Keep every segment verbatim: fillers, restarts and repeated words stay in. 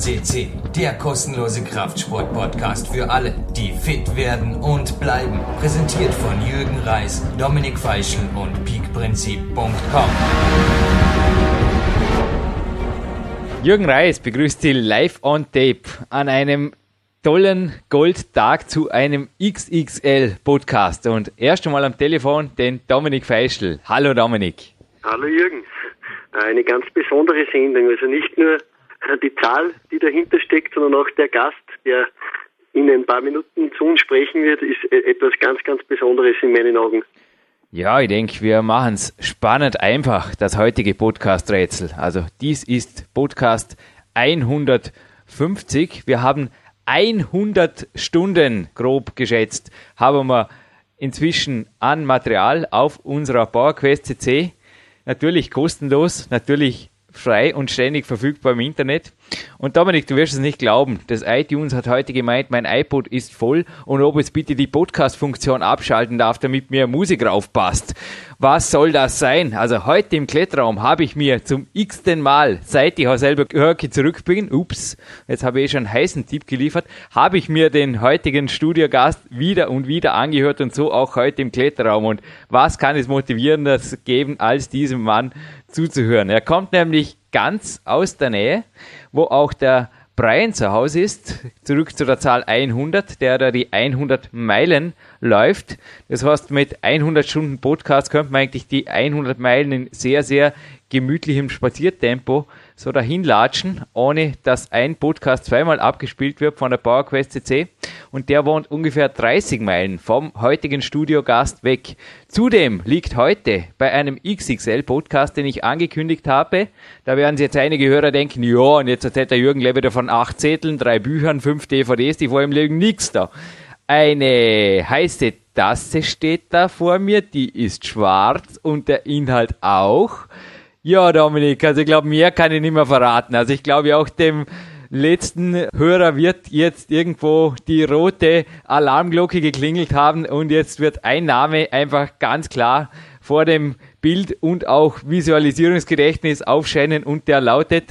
C C, der kostenlose Kraftsport-Podcast für alle, die fit werden und bleiben. Präsentiert von Jürgen Reis, Dominik Feischl und peakprinzip punkt com. Jürgen Reis begrüßt Sie live on tape an einem tollen Goldtag zu einem X X L-Podcast. Und erst einmal am Telefon den Dominik Feischl. Hallo Dominik. Hallo Jürgen. Eine ganz besondere Sendung. Also nicht nur die Zahl, die dahinter steckt, sondern auch der Gast, der in ein paar Minuten zu uns sprechen wird, ist etwas ganz, ganz Besonderes in meinen Augen. Ja, ich denke, wir machen es spannend einfach, das heutige Podcast-Rätsel. Also dies ist Podcast hundertfünfzig. Wir haben hundert Stunden, grob geschätzt, haben wir inzwischen an Material auf unserer PowerQuest C C. Natürlich kostenlos, natürlich frei und ständig verfügbar im Internet. Und Dominik, du wirst es nicht glauben, das iTunes hat heute gemeint, mein iPod ist voll und ob es bitte die Podcast-Funktion abschalten darf, damit mir Musik raufpasst. Was soll das sein? Also heute im Kletterraum habe ich mir zum x-ten Mal, seit ich auch selber Hörke zurück bin, ups, jetzt habe ich eh schon einen heißen Tipp geliefert, habe ich mir den heutigen Studiogast wieder und wieder angehört und so auch heute im Kletterraum. Und was kann es motivierendes geben, als diesem Mann zuzuhören? Er kommt nämlich ganz aus der Nähe, wo auch der Brian zu Hause ist, zurück zu der Zahl hundert, der da die hundert Meilen läuft. Das heißt, mit hundert Stunden Podcast könnte man eigentlich die hundert Meilen in sehr, sehr gemütlichem Spaziertempo so dahin latschen, ohne dass ein Podcast zweimal abgespielt wird von der PowerQuest C C. Und der wohnt ungefähr dreißig Meilen vom heutigen Studiogast weg. Zudem liegt heute bei einem X X L-Podcast, den ich angekündigt habe, da werden sich jetzt einige Hörer denken, ja, und jetzt erzählt der Jürgen wieder von acht Zetteln, drei Büchern, fünf D V Ds, die vor ihm liegen, nix da. Eine heiße Tasse steht da vor mir, die ist schwarz und der Inhalt auch. Ja, Dominik, also ich glaube, mehr kann ich nicht mehr verraten. Also ich glaube auch dem letzten Hörer wird jetzt irgendwo die rote Alarmglocke geklingelt haben und jetzt wird ein Name einfach ganz klar vor dem Bild und auch Visualisierungsgedächtnis aufscheinen und der lautet?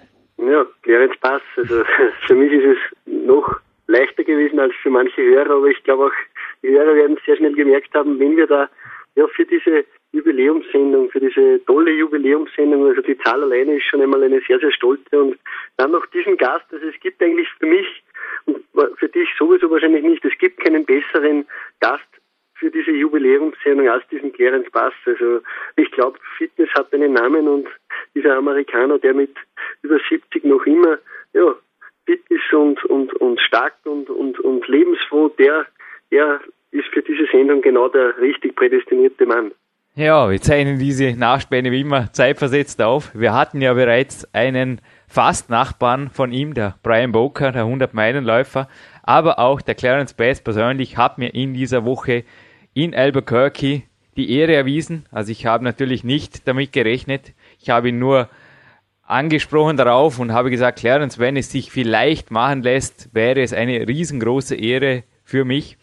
Ja, Clarence Bass. Also für mich ist es noch leichter gewesen als für manche Hörer, aber ich glaube auch, die Hörer werden sehr schnell gemerkt haben, wenn wir da ja für diese Jubiläumssendung, für diese tolle Jubiläumssendung, also die Zahl alleine ist schon einmal eine sehr, sehr stolze und dann noch diesen Gast, also es gibt eigentlich für mich und für dich sowieso wahrscheinlich nicht, es gibt keinen besseren Gast für diese Jubiläumssendung als diesen Clarence Bass. Also ich glaube, Fitness hat einen Namen und dieser Amerikaner, der mit über siebzig noch immer ja, fit ist und, und, und stark und, und, und lebensfroh, der, der ist für diese Sendung genau der richtig prädestinierte Mann. Ja, wir zeichnen diese Nachspäne wie immer zeitversetzt auf. Wir hatten ja bereits einen Fast-Nachbarn von ihm, der Brian Boker, der hundert-Meilen-Läufer, aber auch der Clarence Bass persönlich hat mir in dieser Woche in Albuquerque die Ehre erwiesen. Also ich habe natürlich nicht damit gerechnet. Ich habe ihn nur angesprochen darauf und habe gesagt, Clarence, wenn es sich vielleicht machen lässt, wäre es eine riesengroße Ehre für mich.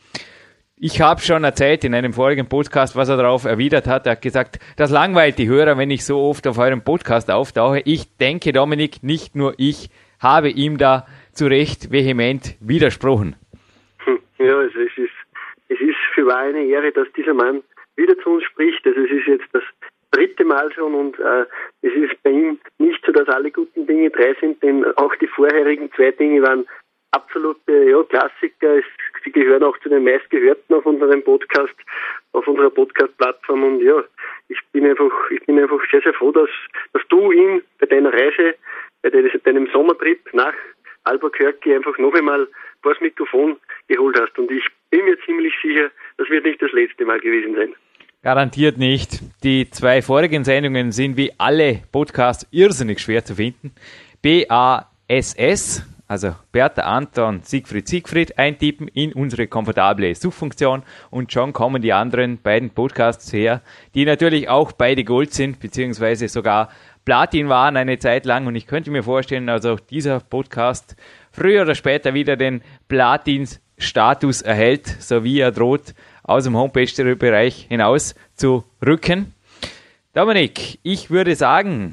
Ich habe schon erzählt in einem vorigen Podcast, was er darauf erwidert hat. Er hat gesagt, das langweilt die Hörer, wenn ich so oft auf eurem Podcast auftauche. Ich denke, Dominik, nicht nur ich habe ihm da zu Recht vehement widersprochen. Ja, also es ist, es ist für wahr eine Ehre, dass dieser Mann wieder zu uns spricht. Also es ist jetzt das dritte Mal schon und äh, es ist bei ihm nicht so, dass alle guten Dinge drei sind, denn auch die vorherigen zwei Dinge waren absolute ja, Klassiker. Sie gehören auch zu den meistgehörten auf unserem Podcast, auf unserer Podcast-Plattform und ja, ich bin einfach, ich bin einfach sehr, sehr froh, dass, dass du ihn bei deiner Reise, bei deinem Sommertrip nach Albuquerque einfach noch einmal vor das Mikrofon geholt hast und ich bin mir ziemlich sicher, das wird nicht das letzte Mal gewesen sein. Garantiert nicht. Die zwei vorigen Sendungen sind wie alle Podcasts irrsinnig schwer zu finden. B A S S, also Bertha Anton Siegfried Siegfried eintippen in unsere komfortable Suchfunktion und schon kommen die anderen beiden Podcasts her, die natürlich auch beide Gold sind, beziehungsweise sogar Platin waren eine Zeit lang und ich könnte mir vorstellen, also dieser Podcast früher oder später wieder den Platin-Status erhält, so wie er droht, aus dem Homepage-Bereich hinaus zu rücken. Dominik, ich würde sagen,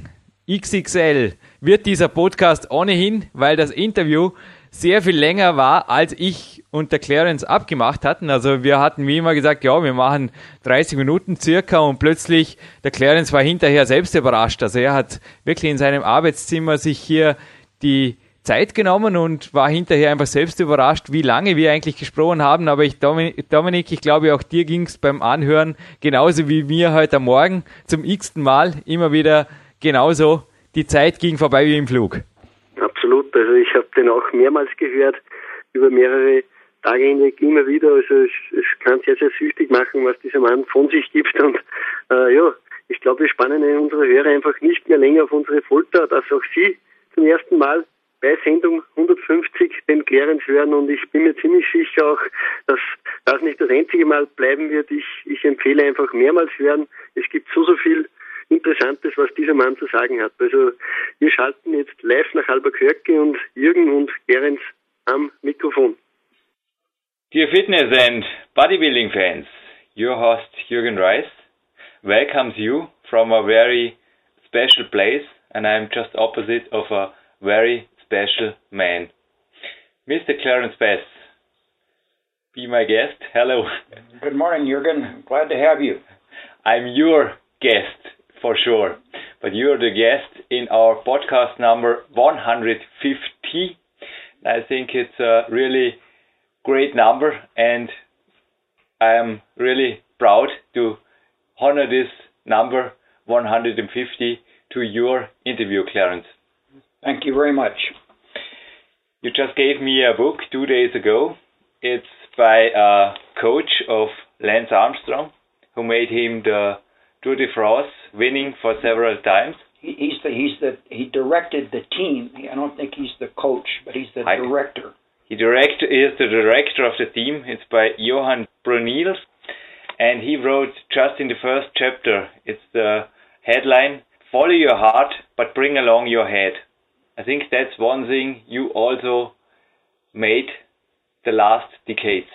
X X L wird dieser Podcast ohnehin, weil das Interview sehr viel länger war, als ich und der Clarence abgemacht hatten. Also wir hatten wie immer gesagt, ja, wir machen dreißig Minuten circa und plötzlich, der Clarence war hinterher selbst überrascht. Also er hat wirklich in seinem Arbeitszimmer sich hier die Zeit genommen und war hinterher einfach selbst überrascht, wie lange wir eigentlich gesprochen haben. Aber ich, Dominik, ich glaube, auch dir ging es beim Anhören genauso wie mir heute Morgen zum x-ten Mal immer wieder genauso. Die Zeit ging vorbei wie im Flug. Absolut. Also ich habe den auch mehrmals gehört, über mehrere Tage hinweg immer wieder. Also es, es kann sehr, sehr süchtig machen, was dieser Mann von sich gibt. Und äh, ja, ich glaube, wir spannen unsere Hörer einfach nicht mehr länger auf unsere Folter, dass auch Sie zum ersten Mal bei Sendung hundertfünfzig den Clarence hören, und ich bin mir ziemlich sicher auch, dass das nicht das einzige Mal bleiben wird. Ich, ich empfehle einfach mehrmals hören. Es gibt so, so viel Interessantes, was dieser Mann zu sagen hat. Also wir schalten jetzt live nach Albuquerque und Jürgen und Clarence am Mikrofon. Dear fitness and bodybuilding fans, your host Jürgen Reis welcomes you from a very special place, and I'm just opposite of a very special man. Mister Clarence Bass, be my guest. Hello. Good morning, Jürgen. Glad to have you. I'm your guest for sure, but you're the guest in our podcast number one hundred fifty. I think it's a really great number, and I'm really proud to honor this number one hundred fifty to your interview, Clarence. Thank you very much. You just gave me a book two days ago. It's by a coach of Lance Armstrong, who made him the Tour de France, winning for several times. He, he's the he's the he directed the team. I don't think he's the coach, but he's the I, director. He direct is the director of the team. It's by Johan Brunels, and he wrote just in the first chapter. It's the headline: "Follow your heart, but bring along your head." I think that's one thing you also made the last decades.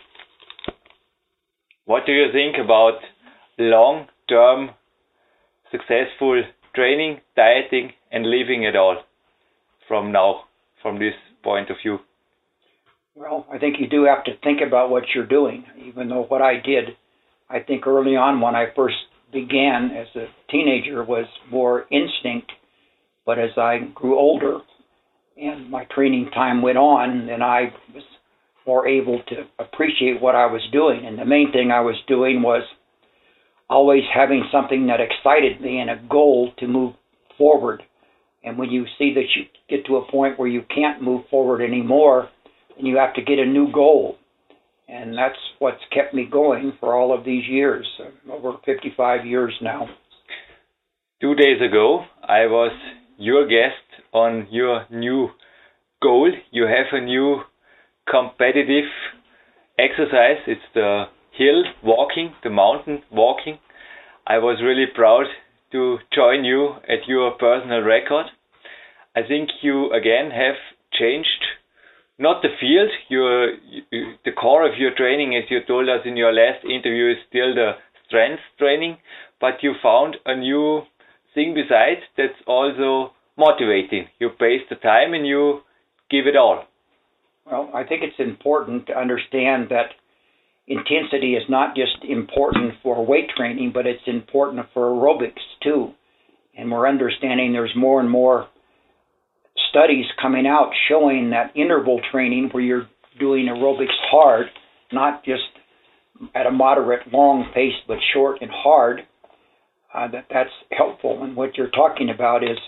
What do you think about long-term successful training, dieting, and living at all from now, from this point of view? Well, I think you do have to think about what you're doing, even though what I did, I think early on when I first began as a teenager was more instinct. But as I grew older and my training time went on, then I was more able to appreciate what I was doing. And the main thing I was doing was always having something that excited me and a goal to move forward. And when you see that you get to a point where you can't move forward anymore, then you have to get a new goal. And that's what's kept me going for all of these years, over fifty-five years now. Two days ago, I was your guest on your new goal. You have a new competitive exercise. It's the hill walking, the mountain walking. I was really proud to join you at your personal record. I think you again have changed, not the field, your, the core of your training, as you told us in your last interview, is still the strength training, but you found a new thing besides that's also motivating. You pace the time and you give it all. Well, I think it's important to understand that intensity is not just important for weight training, but it's important for aerobics too. And we're understanding there's more and more studies coming out showing that interval training, where you're doing aerobics hard, not just at a moderate long pace, but short and hard, uh, that that's helpful. And what you're talking about is,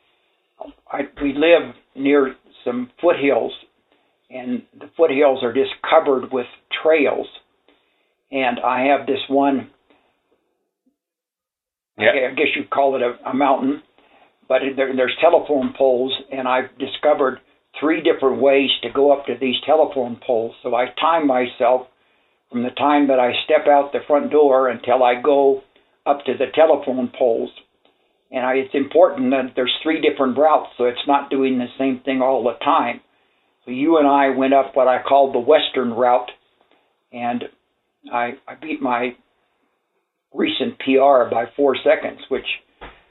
I, we live near some foothills, and the foothills are just covered with trails. And I have this one, yeah. I guess you'd call it a, a mountain, but there, there's telephone poles, and I've discovered three different ways to go up to these telephone poles. So I time myself from the time that I step out the front door until I go up to the telephone poles. And I, it's important that there's three different routes, so it's not doing the same thing all the time. So you and I went up what I call the western route, and I, I beat my recent P R by four seconds, which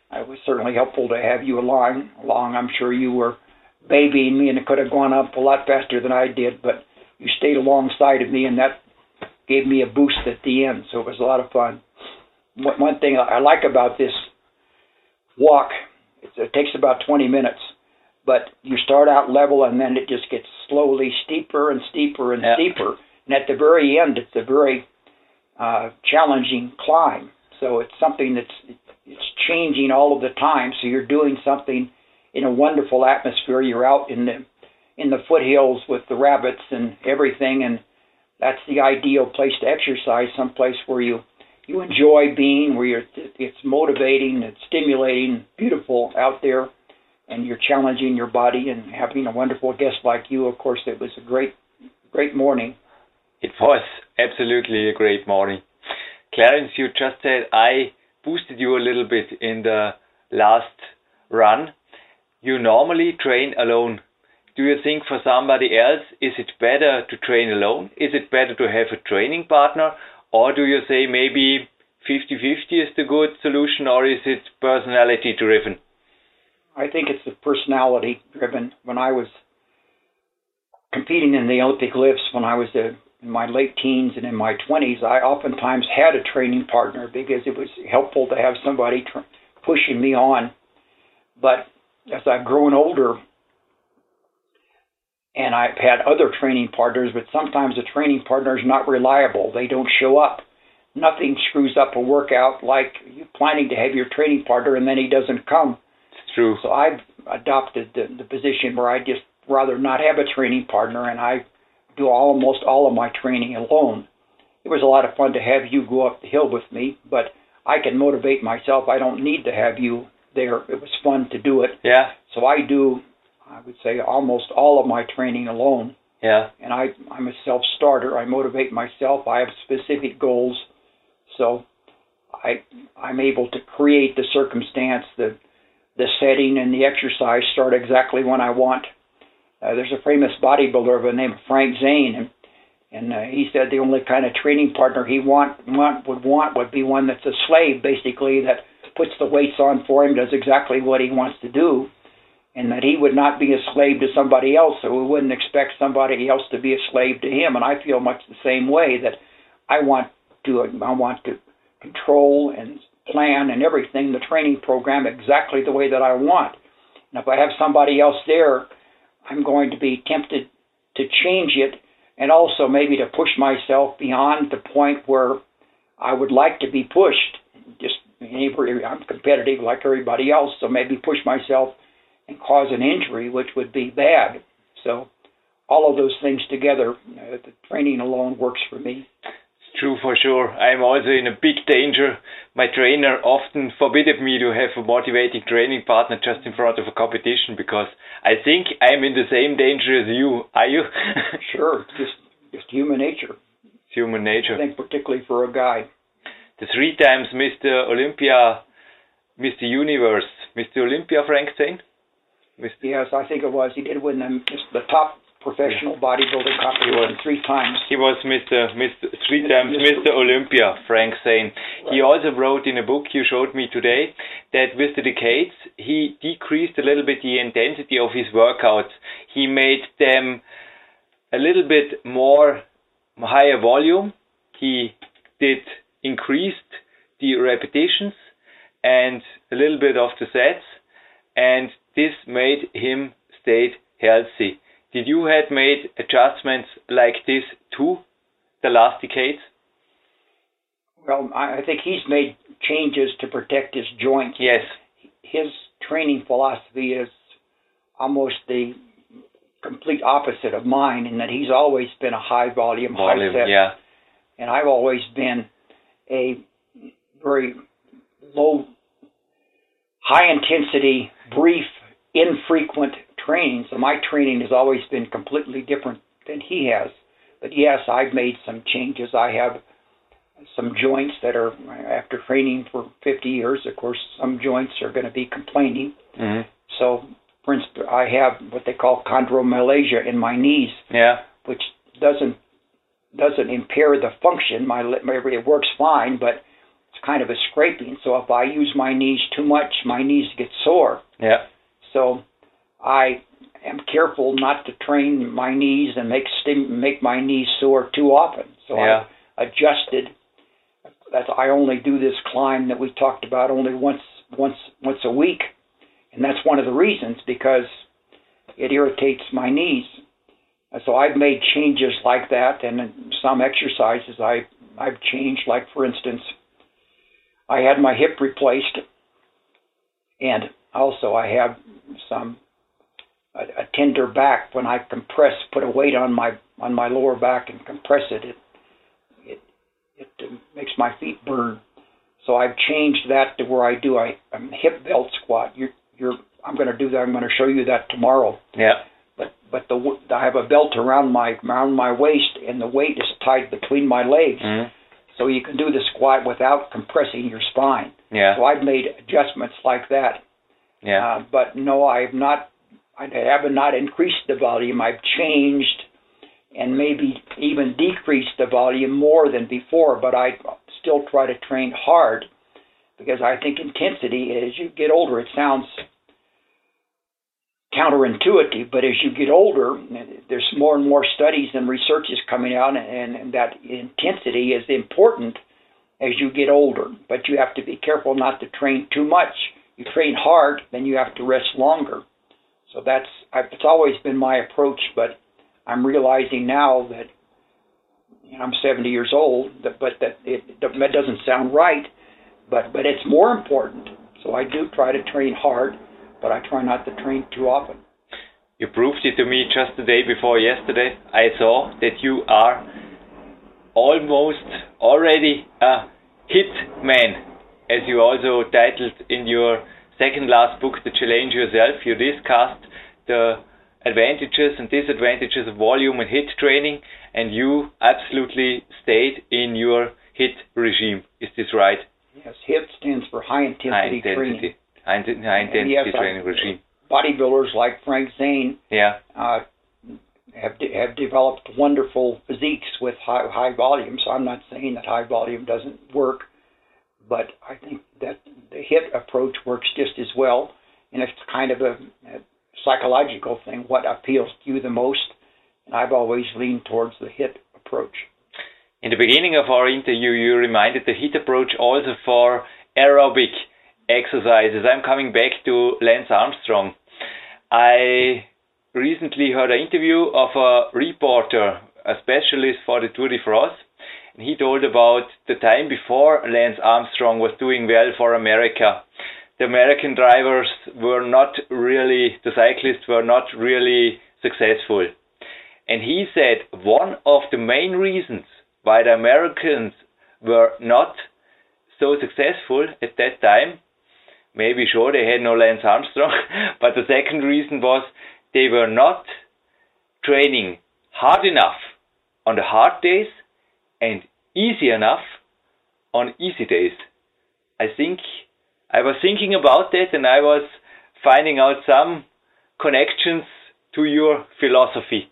it was certainly helpful to have you along. Along, I'm sure you were babying me, and it could have gone up a lot faster than I did, but you stayed alongside of me, and that gave me a boost at the end, so it was a lot of fun. One thing I like about this walk, it takes about twenty minutes, but you start out level, and then it just gets slowly steeper and steeper and yeah. steeper, and at the very end, it's a very uh, challenging climb. So it's something that's it's changing all of the time. So you're doing something in a wonderful atmosphere. You're out in the in the foothills with the rabbits and everything, and that's the ideal place to exercise. Someplace where you you enjoy being, where you're it's motivating, it's stimulating, beautiful out there, and you're challenging your body and having a wonderful guest like you. Of course, it was a great great morning. It was absolutely a great morning. Clarence, you just said I boosted you a little bit in the last run. You normally train alone. Do you think for somebody else, is it better to train alone? Is it better to have a training partner? Or do you say maybe fifty-fifty is the good solution, or is it personality driven? I think it's the personality driven. When I was competing in the Olympic lifts, when I was a in my late teens and in my twenties, I oftentimes had a training partner because it was helpful to have somebody tr- pushing me on. But as I've grown older, and I've had other training partners, but sometimes the training partner is not reliable. They don't show up. Nothing screws up a workout like you planning to have your training partner and then he doesn't come. It's true. So I've adopted the, the position where I just rather not have a training partner, and I do almost all of my training alone. It was a lot of fun to have you go up the hill with me, but I can motivate myself. I don't need to have you there. It was fun to do it. Yeah. So I do, I would say, almost all of my training alone. Yeah. And I, I'm a self-starter. I motivate myself. I have specific goals. So I, I'm able to create the circumstance, the, the setting, and the exercise start exactly when I want. Uh, there's a famous bodybuilder by the name of Frank Zane, and, and uh, he said the only kind of training partner he want, want would want would be one that's a slave, basically, that puts the weights on for him, does exactly what he wants to do, and that he would not be a slave to somebody else, so we wouldn't expect somebody else to be a slave to him. And I feel much the same way, that I want to I want to control and plan and everything, the training program, exactly the way that I want. And if I have somebody else there, I'm going to be tempted to change it, and also maybe to push myself beyond the point where I would like to be pushed. Just I'm competitive like everybody else, so maybe push myself and cause an injury, which would be bad. So all of those things together, uh, the training alone works for me. True, for sure. I'm also in a big danger. My trainer often forbidden me to have a motivating training partner just in front of a competition, because I think I'm in the same danger as you. Are you? Sure, just just human nature. It's human nature. I think particularly for a guy. The three times Mister Olympia, Mister Universe, Mister Olympia, Frank Zane? Mister Yes, I think it was. He did win the, the top professional bodybuilding competition three times. He was Mister Mister three times Mister Olympia, Frank Zane. Right. He also wrote in a book you showed me today that with the decades he decreased a little bit the intensity of his workouts. He made them a little bit more higher volume. He did increased the repetitions and a little bit of the sets, and this made him stay healthy. Did you have made adjustments like this too, the last decades? Well, I think he's made changes to protect his joints. Yes. His training philosophy is almost the complete opposite of mine, in that he's always been a high volume, volume high set. Yeah. And I've always been a very low, high intensity, brief, infrequent training. So my training has always been completely different than he has. But yes, I've made some changes. I have some joints that are, after training for fifty years, of course, some joints are going to be complaining. Mm-hmm. So, for instance, I have what they call chondromalacia in my knees, yeah. which doesn't doesn't impair the function. My, my it works fine, but it's kind of a scraping. So if I use my knees too much, my knees get sore. Yeah. So I am careful not to train my knees and make stim- make my knees sore too often. So Yeah. I adjusted. That I only do this climb that we talked about only once once once a week, and that's one of the reasons, because it irritates my knees. And so I've made changes like that, and in some exercises I I've changed. Like for instance, I had my hip replaced, and also I have some a, a tender back. When I compress, put a weight on my on my lower back and compress it, it it it uh, makes my feet burn. So I've changed that to where I do a, a hip belt squat. You're you're I'm going to do that. I'm going to show you that tomorrow. Yeah. But but the I have a belt around my around my waist, and the weight is tied between my legs, Mm-hmm. so you can do the squat without compressing your spine. Yeah. So I've made adjustments like that. Yeah. Uh, but no, I've not. I have not increased the volume. I've changed and maybe even decreased the volume more than before. But I still try to train hard, because I think intensity, as you get older, it sounds counterintuitive, but as you get older, there's more and more studies and research is coming out, and, and that intensity is important as you get older. But you have to be careful not to train too much. You train hard, then you have to rest longer. So that's I've, it's always been my approach, but I'm realizing now that, you know, I'm seventy years old, that, but that it that doesn't sound right, but but it's more important. So I do try to train hard, but I try not to train too often. You proved it to me just the day before yesterday. I saw that you are almost already a hit man, as you also titled in your second last book, The Challenge Yourself. You discussed the advantages and disadvantages of volume and hit training, and you absolutely stayed in your hit regime. Is this right? Yes, HIT stands for high intensity, high intensity training. High, intensity, high intensity yes, training I, regime. Bodybuilders like Frank Zane Yeah. uh, have de- have developed wonderful physiques with high high volume. So I'm not saying that high volume doesn't work, but I think that the HIT approach works just as well, and it's kind of a, a psychological thing. What appeals to you the most? And I've always leaned towards the HIT approach. In the beginning of our interview, you reminded the HIT approach also for aerobic exercises. I'm coming back to Lance Armstrong. I recently heard an interview of a reporter, a specialist for the Tour de France, and he told about the time before Lance Armstrong was doing well for America. The American drivers were not really, the cyclists were not really successful. And he said one of the main reasons why the Americans were not so successful at that time, maybe sure they had no Lance Armstrong, but the second reason was they were not training hard enough on the hard days and easy enough on easy days. I think I was thinking about that, and I was finding out some connections to your philosophy.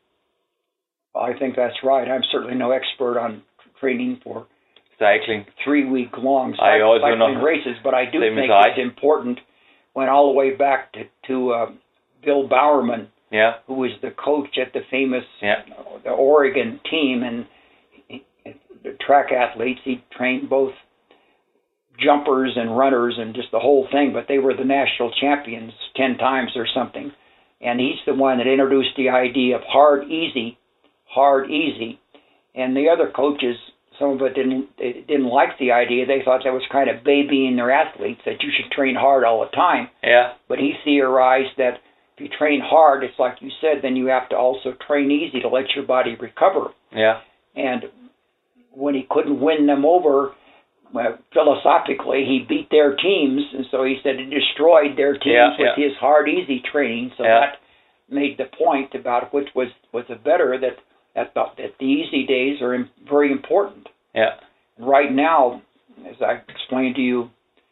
I think that's right. I'm certainly no expert on training for cycling, three-week-long I also cycling know. races, but I do Same think as I. it's important. Went all the way back to, to uh, Bill Bowerman, Yeah, who was the coach at the famous yeah, uh, the Oregon team, and he, the track athletes. He trained both jumpers and runners and just the whole thing, but they were the national champions ten times or something. And he's the one that introduced the idea of hard, easy, hard, easy. And the other coaches, some of it didn't they didn't like the idea. They thought that was kind of babying their athletes, that you should train hard all the time. yeah, But he theorized that if you train hard, it's like you said, then you have to also train easy to let your body recover. yeah, And when he couldn't win them over, well, philosophically, he beat their teams, and so he said he destroyed their teams Yeah, with yeah. his hard, easy training. So Yeah. that made the point about which was was the better, that that the, that the easy days are im- very important. yeah, Right now, as I explained to you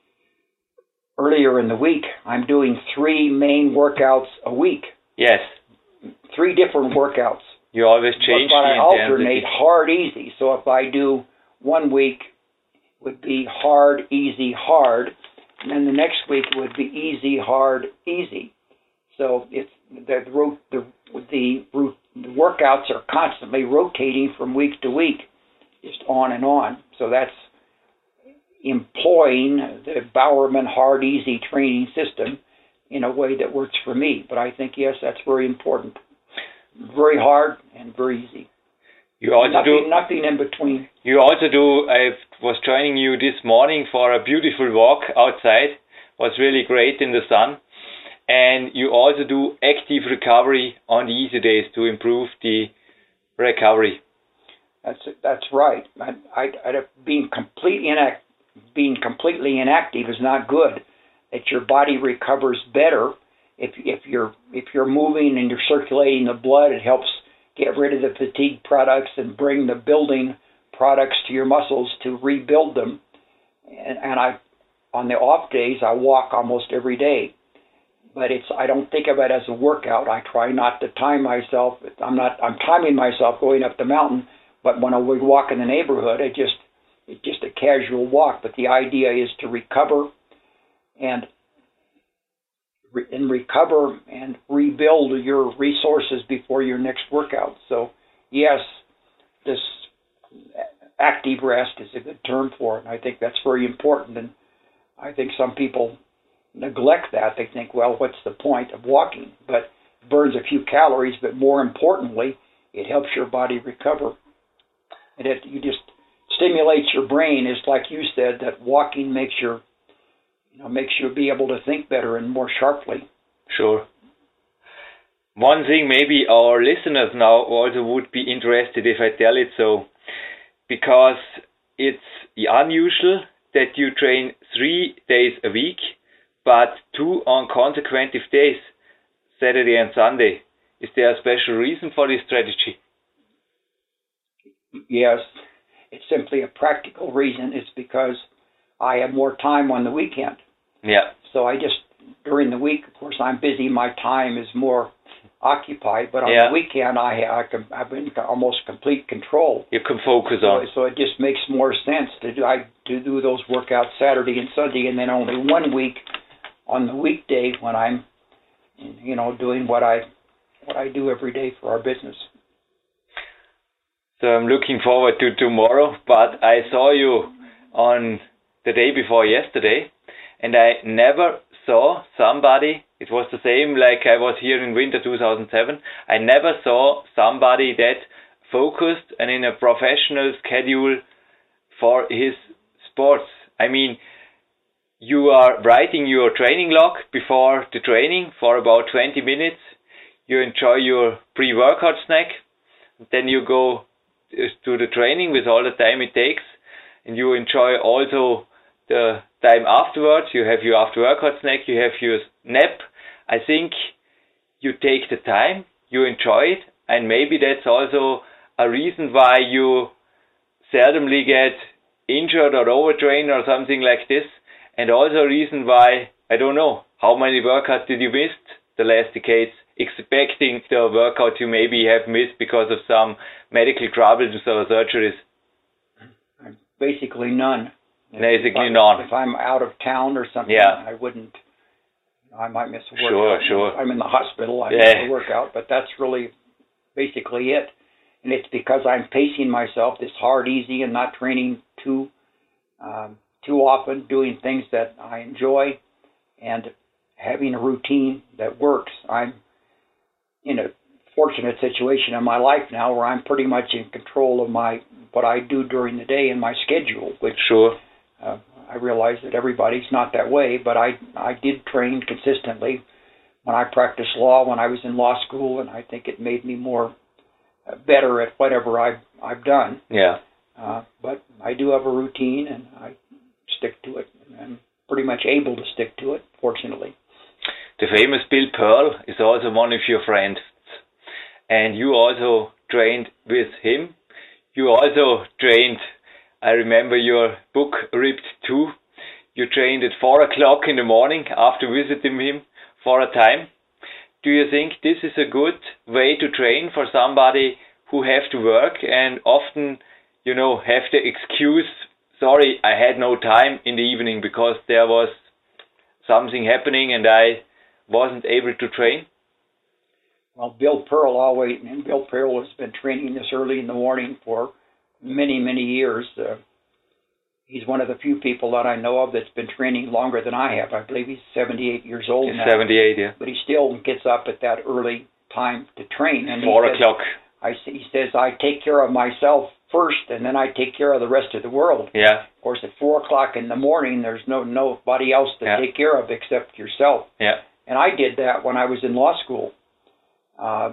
earlier in the week, I'm doing three main workouts a week, yes. three different workouts. You always change but, but the I intensity. alternate hard, easy. So if I do one week would be hard, easy, hard, and then the next week would be easy, hard, easy. So it's the the the, the workouts are constantly rotating from week to week, just on and on. So that's employing the Bowerman hard, easy training system in a way that works for me. But I think, yes, that's very important. Very hard and very easy. You also nothing, do nothing in between. You also do. I was joining you this morning for a beautiful walk outside. Was really great in the sun. And you also do active recovery on the easy days to improve the recovery. That's that's right. I, I, I, being completely inact, being completely inactive is not good. That your body recovers better if if you're if you're moving and you're circulating the blood. It helps get rid of the fatigue products and bring the building products to your muscles to rebuild them. And, and I, on the off days, I walk almost every day. But it's I don't think of it as a workout. I try not to time myself. I'm not I'm timing myself going up the mountain. But when I would walk in the neighborhood, it just it's just a casual walk. But the idea is to recover and and recover and rebuild your resources before your next workout. So yes, this active rest is a good term for it. And I think that's very important. And I think some people neglect that. They think, well, what's the point of walking? But it burns a few calories, but more importantly, it helps your body recover. And it you just stimulates your brain. It's like you said, that walking makes your you know makes you be able to think better and more sharply. Sure. One thing maybe our listeners now also would be interested if I tell it so, because it's unusual that you train three days a week, but two on consecutive days, Saturday and Sunday. Is there a special reason for this strategy? Yes, it's simply a practical reason. It's because I have more time on the weekend. Yeah. So I just, during the week, of course, I'm busy. My time is more occupied, but on yeah. the weekend, I, I can, I'm in almost complete control. You can focus so, on. So it just makes more sense to do, I, to do those workouts Saturday and Sunday, and then only one week on the weekday when I'm, you know, doing what I, what I do every day for our business. So I'm looking forward to tomorrow, but I saw you on the day before yesterday, and I never saw somebody, it was the same like I was here in winter two thousand seven, I never saw somebody that focused and in a professional schedule for his sports. I mean, you are writing your training log before the training for about twenty minutes, you enjoy your pre-workout snack, then you go to the training with all the time it takes, and you enjoy also the time afterwards. You have your after workout snack, you have your nap. I think you take the time, you enjoy it, and maybe that's also a reason why you seldomly get injured or overtrained or something like this, and also a reason why, I don't know, how many workouts did you miss the last decades, expecting the workout you maybe have missed because of some medical troubles or surgeries? Basically none. Basically if none. If I'm out of town or something, yeah. I wouldn't, I might miss a workout. Sure, sure. If I'm in the hospital, I yeah. miss a workout, but that's really basically it. And it's because I'm pacing myself this hard, easy, and not training too, um, too often, doing things that I enjoy, and having a routine that works. I'm in a fortunate situation in my life now where I'm pretty much in control of my what I do during the day and my schedule, which sure. uh, I realize that everybody's not that way, but I I did train consistently when I practiced law, when I was in law school, and I think it made me more uh, better at whatever I've, I've done. Yeah. Uh, but I do have a routine, and I stick to it. And I'm pretty much able to stick to it, fortunately. The famous Bill Pearl is also one of your friends, and you also trained with him. You also trained, I remember your book, Ripped two. You trained at four o'clock in the morning after visiting him for a time. Do you think this is a good way to train for somebody who have to work and often, you know, have the excuse sorry, I had no time in the evening because there was something happening and I wasn't able to train? Well, Bill Pearl always, and Bill Pearl has been training this early in the morning for many, many years. Uh, he's one of the few people that I know of that's been training longer than I have. I believe he's seventy-eight years old He's now. seventy-eight, yeah. But he still gets up at that early time to train. And Four he says, o'clock. I, he says, I take care of myself first, and then I take care of the rest of the world. Yeah. Of course, at four o'clock in the morning, there's no nobody else to yeah. take care of except yourself. Yeah. And I did that when I was in law school. Uh,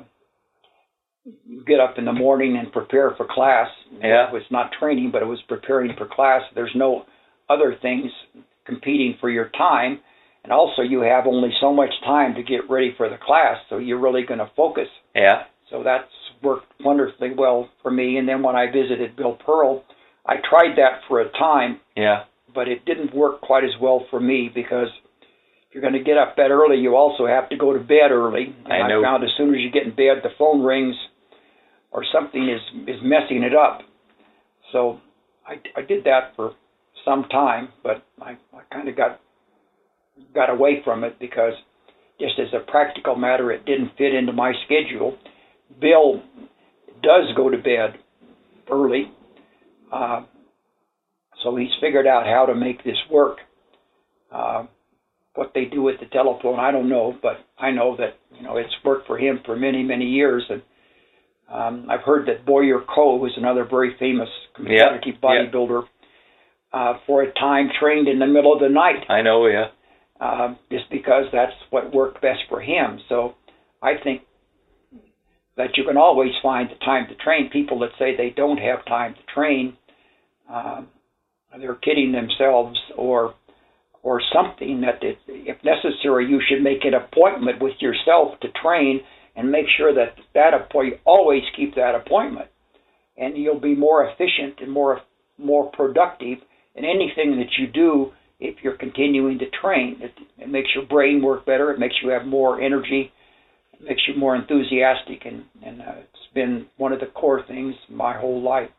you get up in the morning and prepare for class. Yeah. It was not training, but it was preparing for class. There's no other things competing for your time. And also you have only so much time to get ready for the class, so you're really going to focus. Yeah. So that's worked wonderfully well for me. And then when I visited Bill Pearl, I tried that for a time. Yeah. But it didn't work quite as well for me because if you're going to get up that early, you also have to go to bed early. And I know. I found as soon as you get in bed, the phone rings or something is, is messing it up. So I, I did that for some time, but I, I kind of got got away from it because just as a practical matter, it didn't fit into my schedule. Bill does go to bed early, uh, so he's figured out how to make this work. Uh, what they do with the telephone, I don't know, but I know that you know it's worked for him for many, many years. And um, I've heard that Boyer Coe, who's another very famous competitive yeah, bodybuilder, yeah. uh, for a time trained in the middle of the night. I know, yeah. Uh, just because that's what worked best for him. So I think that you can always find the time to train. People that say they don't have time to train, uh, they're kidding themselves or or something. That it, if necessary, you should make an appointment with yourself to train and make sure that that appointment, always keep that appointment. And you'll be more efficient and more more productive in anything that you do if you're continuing to train. It, it makes your brain work better. It makes you have more energy. It makes you more enthusiastic. And, and uh, it's been one of the core things my whole life.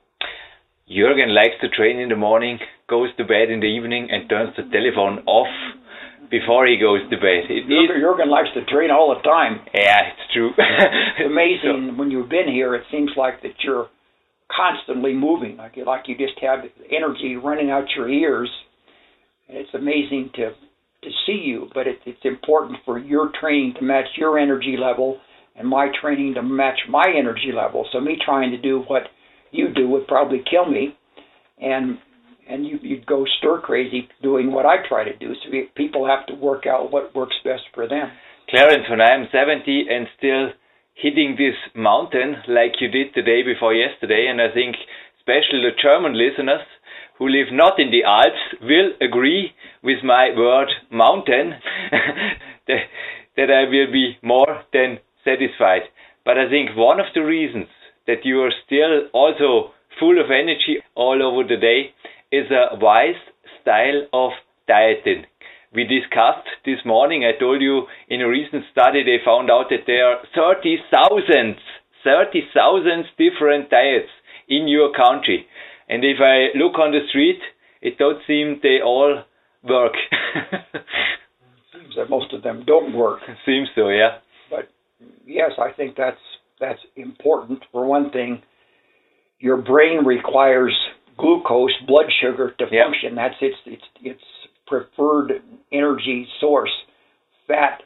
Jürgen likes to train in the morning, goes to bed in the evening, and turns the telephone off before he goes to bed. It Jürgen, Jürgen likes to train all the time. Yeah, it's true. It's amazing. So, when you've been here, it seems like that you're constantly moving, like you, like you just have energy running out your ears. It's amazing to to see you, but it, it's important for your training to match your energy level and my training to match my energy level. So me trying to do what you do would probably kill me, and and you, you'd go stir crazy doing what I try to do. So we, people have to work out what works best for them. Clarence, when I'm seventy and still hitting this mountain like you did the day before yesterday, and I think especially the German listeners who live not in the Alps will agree with my word mountain, that, that I will be more than satisfied. But I think one of the reasons that you are still also full of energy all over the day is a wise style of dieting. We discussed this morning, I told you in a recent study they found out that there are thirty thousand, thirty thousand different diets in your country. And if I look on the street, it don't seem they all work. Seems that most of them don't work. Seems so, yeah. But yes, I think that's that's important. For one thing, your brain requires glucose, blood sugar, to yeah. function. That's its its its preferred energy source. Fat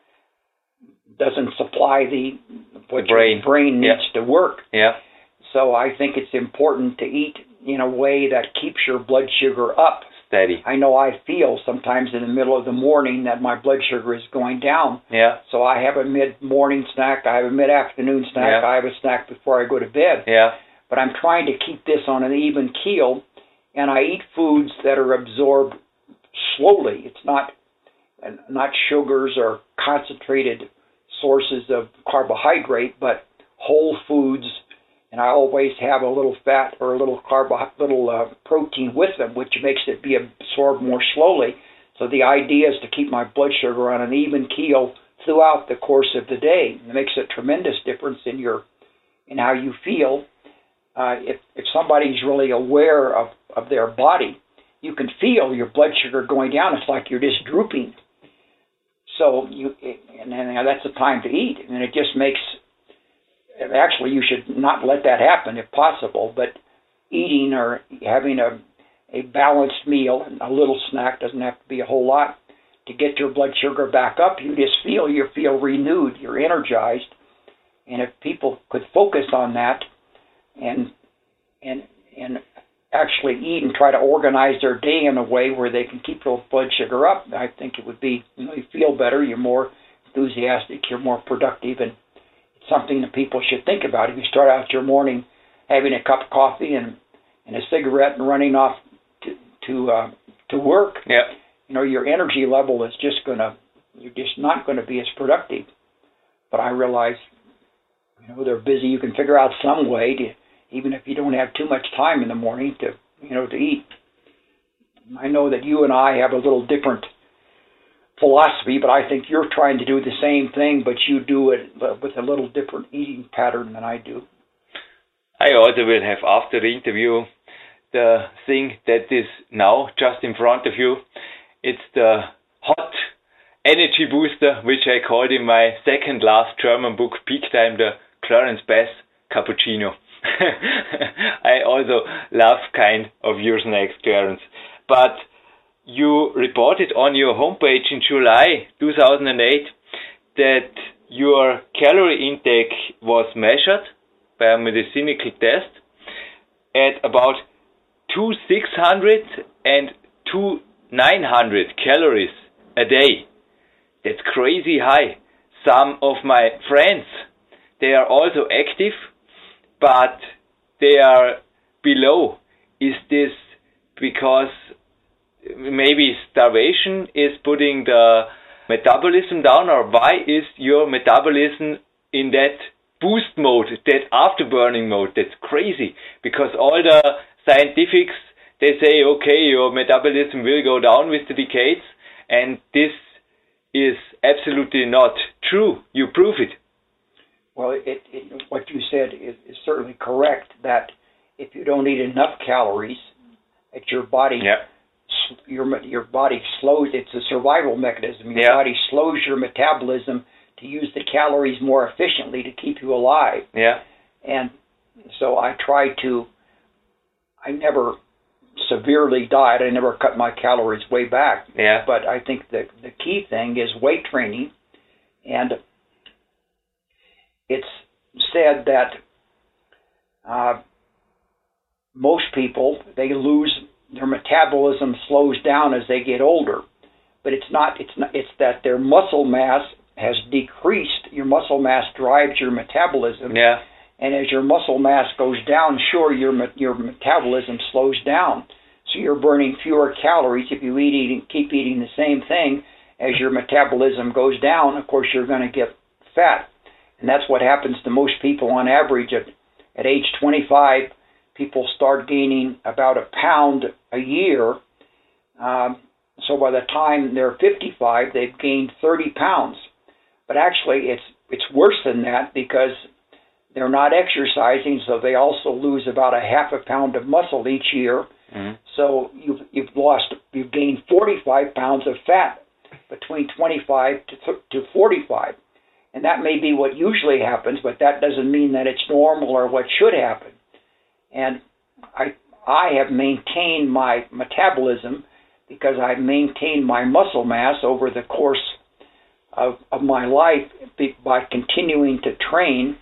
doesn't supply the what the brain, your brain needs yeah. to work. Yeah. So I think it's important to eat in a way that keeps your blood sugar up. Steady. I know I feel sometimes in the middle of the morning that my blood sugar is going down. Yeah. So I have a mid-morning snack, I have a mid-afternoon snack, yeah. I have a snack before I go to bed. Yeah. But I'm trying to keep this on an even keel, and I eat foods that are absorbed slowly. It's not not sugars or concentrated sources of carbohydrate, but whole foods. And I always have a little fat or a little carbo, little uh, protein with them, which makes it be absorbed more slowly. So the idea is to keep my blood sugar on an even keel throughout the course of the day. It makes a tremendous difference in your, in how you feel. uh, if if somebody's really aware of, of their body, you can feel your blood sugar going down. It's like you're just drooping. So you, and then that's the time to eat, and it just makes. Actually, you should not let that happen if possible. But eating or having a a balanced meal, a little snack, doesn't have to be a whole lot, to get your blood sugar back up. You just feel you feel renewed. You're energized, and if people could focus on that, and and and actually eat and try to organize their day in a way where they can keep their blood sugar up, I think it would be, you know, you feel better, you're more enthusiastic, you're more productive, and it's something that people should think about. If you start out your morning having a cup of coffee and, and a cigarette and running off to to, uh, to work, yeah. you know, your energy level is just going to, you're just not going to be as productive. But I realize, you know, they're busy. You can figure out some way to, even if you don't have too much time in the morning to, you know, to eat. I know that you and I have a little different philosophy, but I think you're trying to do the same thing, but you do it with a little different eating pattern than I do. I also will have, after the interview, the thing that is now just in front of you. It's the hot energy booster, which I called in my second last German book, Peak Time, the Clarence Bass Cappuccino. I also love kind of your snacks, Clarence. But you reported on your homepage in July two thousand eight that your calorie intake was measured by a medicinal test at about two thousand six hundred and two thousand nine hundred calories a day. That's crazy high. Some of my friends, they are also active, but they are below. Is this because maybe starvation is putting the metabolism down, or why is your metabolism in that boost mode, that afterburning mode? That's crazy, because all the scientifics, they say, okay, your metabolism will go down with the decades, and this is absolutely not true. You prove it. Well, it, it, what you said is, is certainly correct, that if you don't eat enough calories, at your body, yeah. your your body slows. It's a survival mechanism. Your yeah. body slows your metabolism to use the calories more efficiently to keep you alive. Yeah. And so I try to. I never severely diet. I never cut my calories way back. Yeah. But I think the the key thing is weight training, and it's said that uh, most people, they lose, their metabolism slows down as they get older, but it's not. It's not. It's that their muscle mass has decreased. Your muscle mass drives your metabolism. Yeah. And as your muscle mass goes down, sure, your your metabolism slows down. So you're burning fewer calories if you eat eating, keep eating the same thing. As your metabolism goes down, of course, you're going to get fat. And that's what happens to most people on average. At, at age twenty-five, people start gaining about a pound a year. Um, so by the time they're fifty-five, they've gained thirty pounds. But actually, it's it's worse than that, because they're not exercising, so they also lose about a half a pound of muscle each year. Mm-hmm. So you've you've lost you've gained forty-five pounds of fat between twenty-five to forty-five, and that may be what usually happens, but that doesn't mean that it's normal or what should happen. And I I have maintained my metabolism because I've maintained my muscle mass over the course of of my life by continuing to train.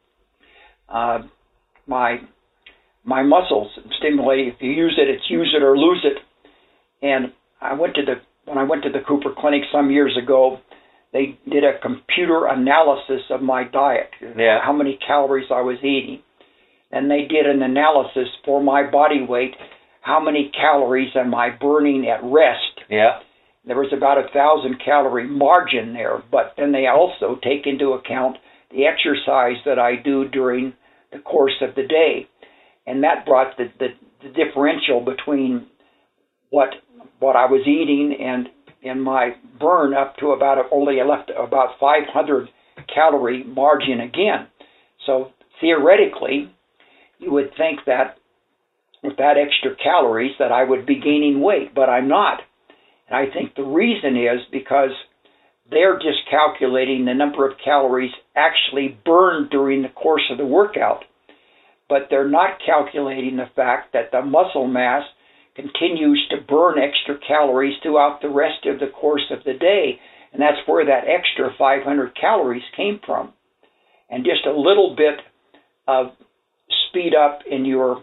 Uh, my my muscles, stimulate. If you use it, it's use it or lose it. And I went to the when I went to the Cooper Clinic some years ago, they did a computer analysis of my diet, yeah. how many calories I was eating, and they did an analysis for my body weight, how many calories am I burning at rest. Yeah. There was about a thousand calorie margin there, but then they also take into account the exercise that I do during the course of the day. And that brought the, the, the differential between what what I was eating and, and my burn up to about, only left about five hundred calorie margin again. So theoretically, you would think that with that extra calories that I would be gaining weight, but I'm not. And I think the reason is because they're just calculating the number of calories actually burned during the course of the workout, but they're not calculating the fact that the muscle mass continues to burn extra calories throughout the rest of the course of the day, and that's where that extra five hundred calories came from. And just a little bit of speed up in your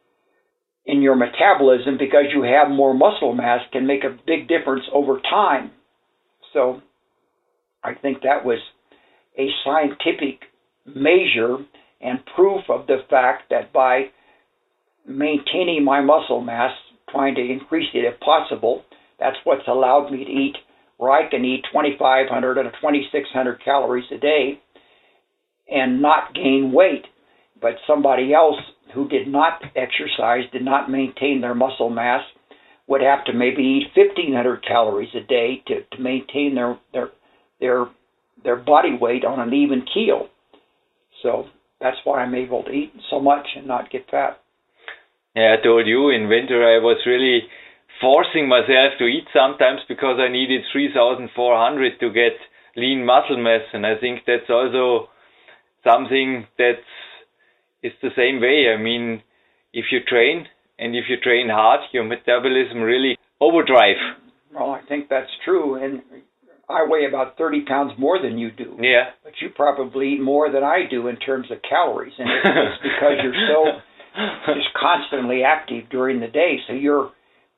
in your metabolism because you have more muscle mass can make a big difference over time. So I think that was a scientific measure and proof of the fact that by maintaining my muscle mass, trying to increase it if possible, that's what's allowed me to eat, where I can eat twenty-five hundred or twenty-six hundred calories a day and not gain weight. But somebody else who did not exercise, did not maintain their muscle mass, would have to maybe eat fifteen hundred calories a day to, to maintain their, their their their body weight on an even keel. So that's why I'm able to eat so much and not get fat. Yeah, I told you in winter I was really forcing myself to eat sometimes because I needed three thousand four hundred to get lean muscle mass, and I think that's also something that is the same way. I mean, if you train and if you train hard, your metabolism really overdrive. Well, I think that's true, and I weigh about thirty pounds more than you do. Yeah. But you probably eat more than I do in terms of calories, and it's, it's because you're so just constantly active during the day, so you're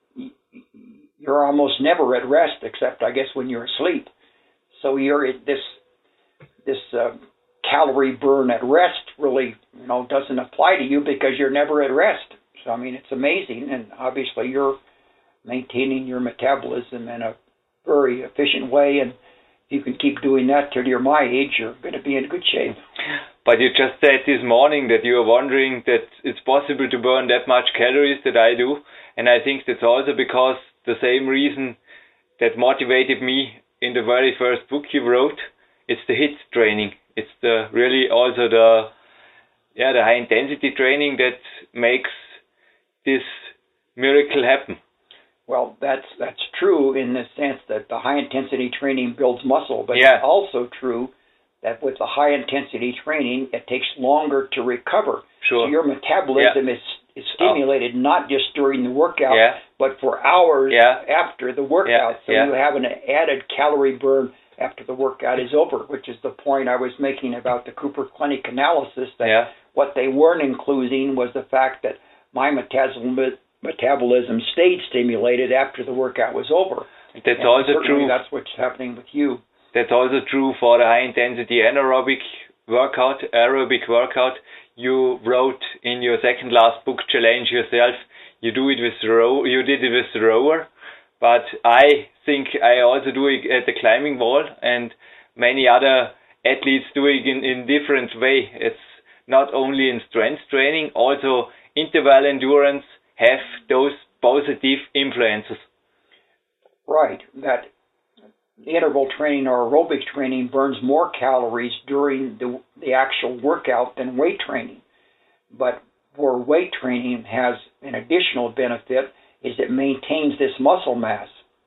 you're almost never at rest, except I guess when you're asleep. So you're at this this uh, calorie burn at rest really, you know, doesn't apply to you because you're never at rest. So I mean, it's amazing, and obviously you're maintaining your metabolism in a very efficient way, and if you can keep doing that till you're my age, you're going to be in good shape. But you just said this morning that you are wondering that it's possible to burn that much calories that I do, and I think that's also because the same reason that motivated me in the very first book you wrote, it's the HIIT training. It's the really also the yeah the high intensity training that makes this miracle happen. Well, that's that's true in the sense that the high intensity training builds muscle, but yeah. It's also true that with the high intensity training, it takes longer to recover. Sure. So your metabolism yeah. is is stimulated oh. not just during the workout, yeah. but for hours yeah. after the workout. Yeah. So yeah. you have an added calorie burn after the workout is over, which is the point I was making about the Cooper Clinic analysis, that yeah. what they weren't including was the fact that my metabolism metabolism stayed stimulated after the workout was over. That's and also true. That's what's happening with you. That's also true for the high intensity anaerobic workout, aerobic workout. You wrote in your second last book, Challenge Yourself. You do it with the row. You did it with the rower, but I think I also do it at the climbing wall, and many other athletes do it in in different way. It's not only in strength training, also interval endurance have those positive influences. Right. That interval training or aerobic training burns more calories during the, the actual workout than weight training. But for weight training has an additional benefit is it maintains this muscle mass.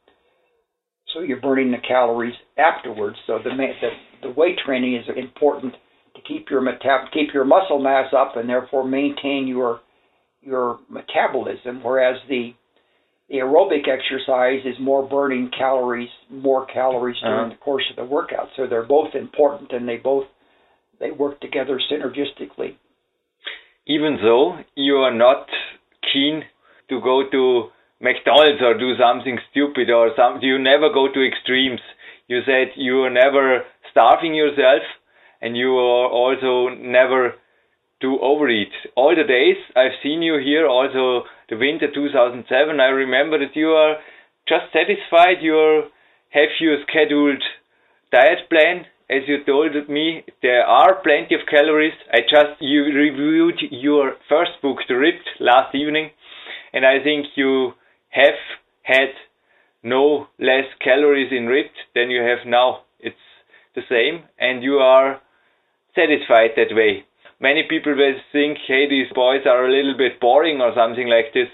So you're burning the calories afterwards. So the the, the weight training is important to keep your metab- keep your muscle mass up and therefore maintain your your metabolism, whereas the the aerobic exercise is more burning calories, more calories during uh-huh. the course of the workout. So they're both important, and they both they work together synergistically. Even though you are not keen to go to McDonald's or do something stupid or something, you never go to extremes. You said you are never starving yourself, and you are also never to overeat. All the days I've seen you here, also the winter two thousand seven, I remember that you are just satisfied. You have your scheduled diet plan. As you told me, there are plenty of calories. I just you reviewed your first book, The Ripped, last evening, and I think you have had no less calories in Ripped than you have now. It's the same, and you are satisfied that way. many people will think, hey, these boys are a little bit boring or something like this.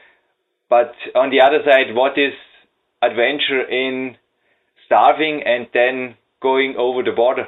But on the other side, what is adventure in starving and then going over the border?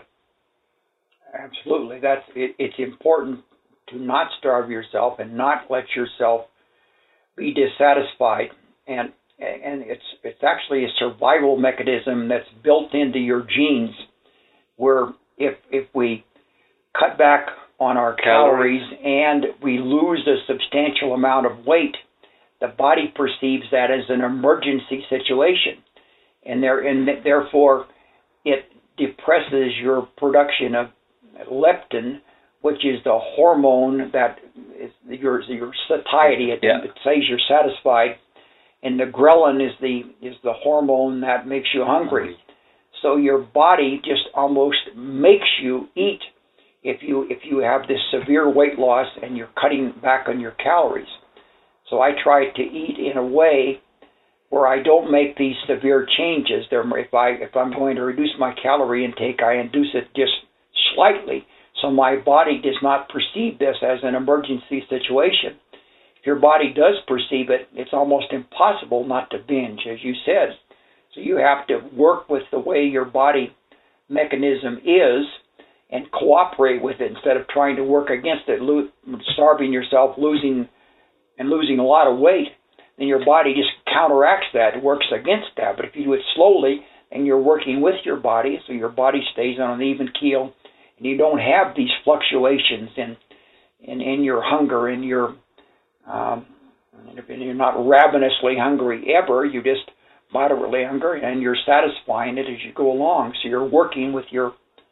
Absolutely. That's it, it's important to not starve yourself and not let yourself be dissatisfied. And and it's it's actually a survival mechanism that's built into your genes, where if if we cut back on our calories, calories and we lose a substantial amount of weight, the body perceives that as an emergency situation, and there and therefore it depresses your production of leptin, which is the hormone that is your your satiety. It, yeah. it says you're satisfied, and the ghrelin is the is the hormone that makes you hungry. So your body just almost makes you eat if you if you have this severe weight loss and you're cutting back on your calories. So I try to eat in a way where I don't make these severe changes. There, if I if I'm going to reduce my calorie intake, I induce it just slightly, so my body does not perceive this as an emergency situation. If your body does perceive it, it's almost impossible not to binge, as you said. So you have to work with the way your body mechanism is and cooperate with it instead of trying to work against it, lo- starving yourself, losing and losing a lot of weight. Then your body just counteracts that, works against that. But if you do it slowly and you're working with your body, so your body stays on an even keel, and you don't have these fluctuations in in, in your hunger, in your um, and you're not ravenously hungry ever. You just moderately hungry, and you're satisfying it as you go along. So you're working with your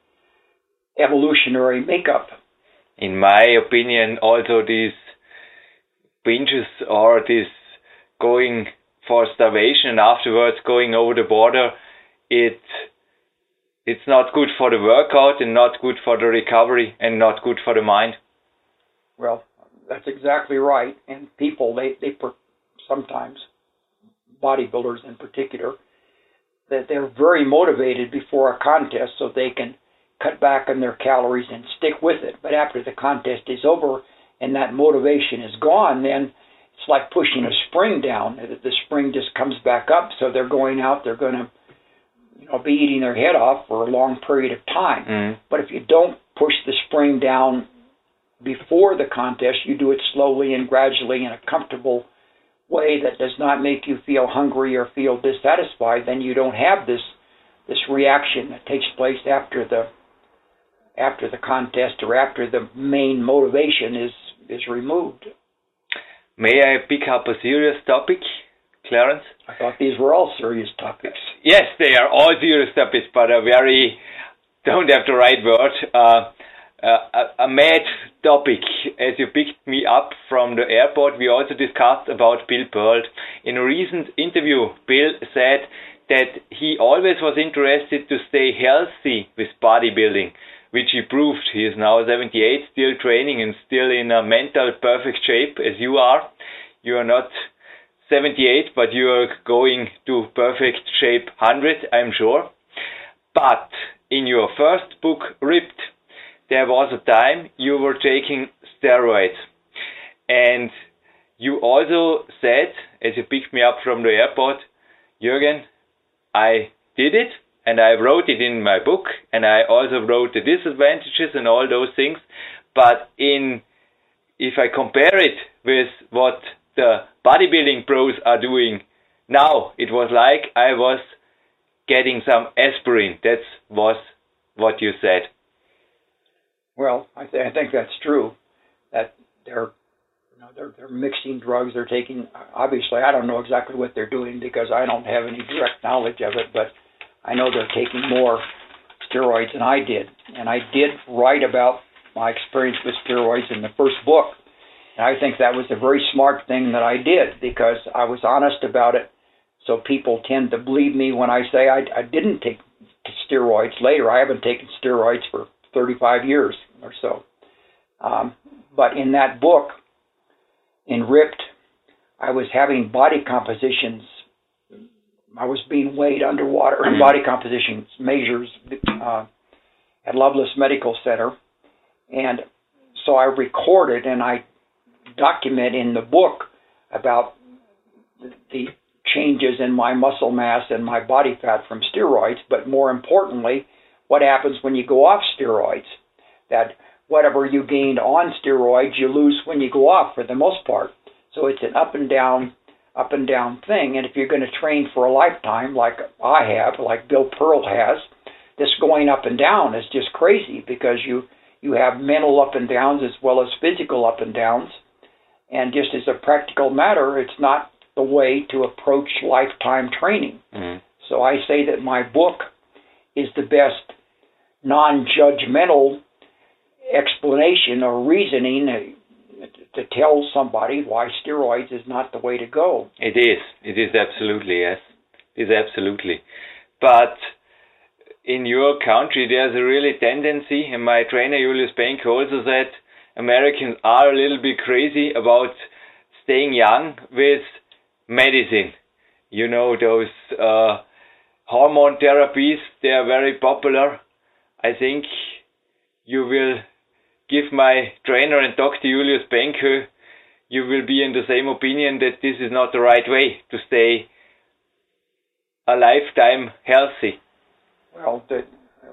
evolutionary makeup. In my opinion, also these binges or this going for starvation and afterwards going over the border, it it's not good for the workout and not good for the recovery and not good for the mind. Well, that's exactly right. And people, they, they sometimes, bodybuilders in particular, that they're very motivated before a contest so they can cut back on their calories and stick with it. But after the contest is over and that motivation is gone, then it's like pushing a spring down. The spring just comes back up, so they're going out, they're going to you know, be eating their head off for a long period of time. Mm. But if you don't push the spring down before the contest, you do it slowly and gradually in a comfortable way that does not make you feel hungry or feel dissatisfied, then you don't have this this reaction that takes place after the after the contest or after the main motivation is is removed. May I pick up a serious topic, Clarence? I thought these were all serious topics. Yes, they are all serious topics, but a very, don't have the right word, uh, uh, a, a mad topic. As you picked me up from the airport, we also discussed about Bill Pearl. In a recent interview, Bill said that he always was interested to stay healthy with bodybuilding, which he proved. He is now seventy-eight, still training and still in a mental perfect shape as you are. You are not seventy-eight, but you are going to perfect shape one hundred, I'm sure. But in your first book, Ripped, there was a time you were taking steroids. And you also said, as you picked me up from the airport, Jürgen, I did it. And I wrote it in my book, and I also wrote the disadvantages and all those things. But in, if I compare it with what the bodybuilding pros are doing now, it was like I was getting some aspirin. That was what you said. Well, I, th- I think that's true. That they're, you know, they're they're mixing drugs. They're taking. Obviously, I don't know exactly what they're doing because I don't have any direct knowledge of it, but I know they're taking more steroids than I did. And I did write about my experience with steroids in the first book. And I think that was a very smart thing that I did because I was honest about it. So people tend to believe me when I say I, I didn't take steroids later. I haven't taken steroids for thirty-five years or so. Um, but in that book, in Ripped, I was having body compositions. I was being weighed underwater in body composition measures uh, at Loveless Medical Center. And so I recorded and I document in the book about the changes in my muscle mass and my body fat from steroids, but more importantly, what happens when you go off steroids. That whatever you gained on steroids, you lose when you go off for the most part. So it's an up and down, up and down thing. And if you're going to train for a lifetime, like I have, like Bill Pearl has, this going up and down is just crazy because you, you have mental up and downs as well as physical up and downs. And just as a practical matter, it's not the way to approach lifetime training. Mm-hmm. So I say that my book is the best non-judgmental explanation or reasoning to tell somebody why steroids is not the way to go. It is. It is absolutely, yes. It is absolutely. But in your country, there's a really tendency, and my trainer Julius Benko also said, Americans are a little bit crazy about staying young with medicine. You know, those uh, hormone therapies, they are very popular. I think you will give my trainer and Doctor Julius Benko, you will be in the same opinion that this is not the right way to stay a lifetime healthy. Well, the,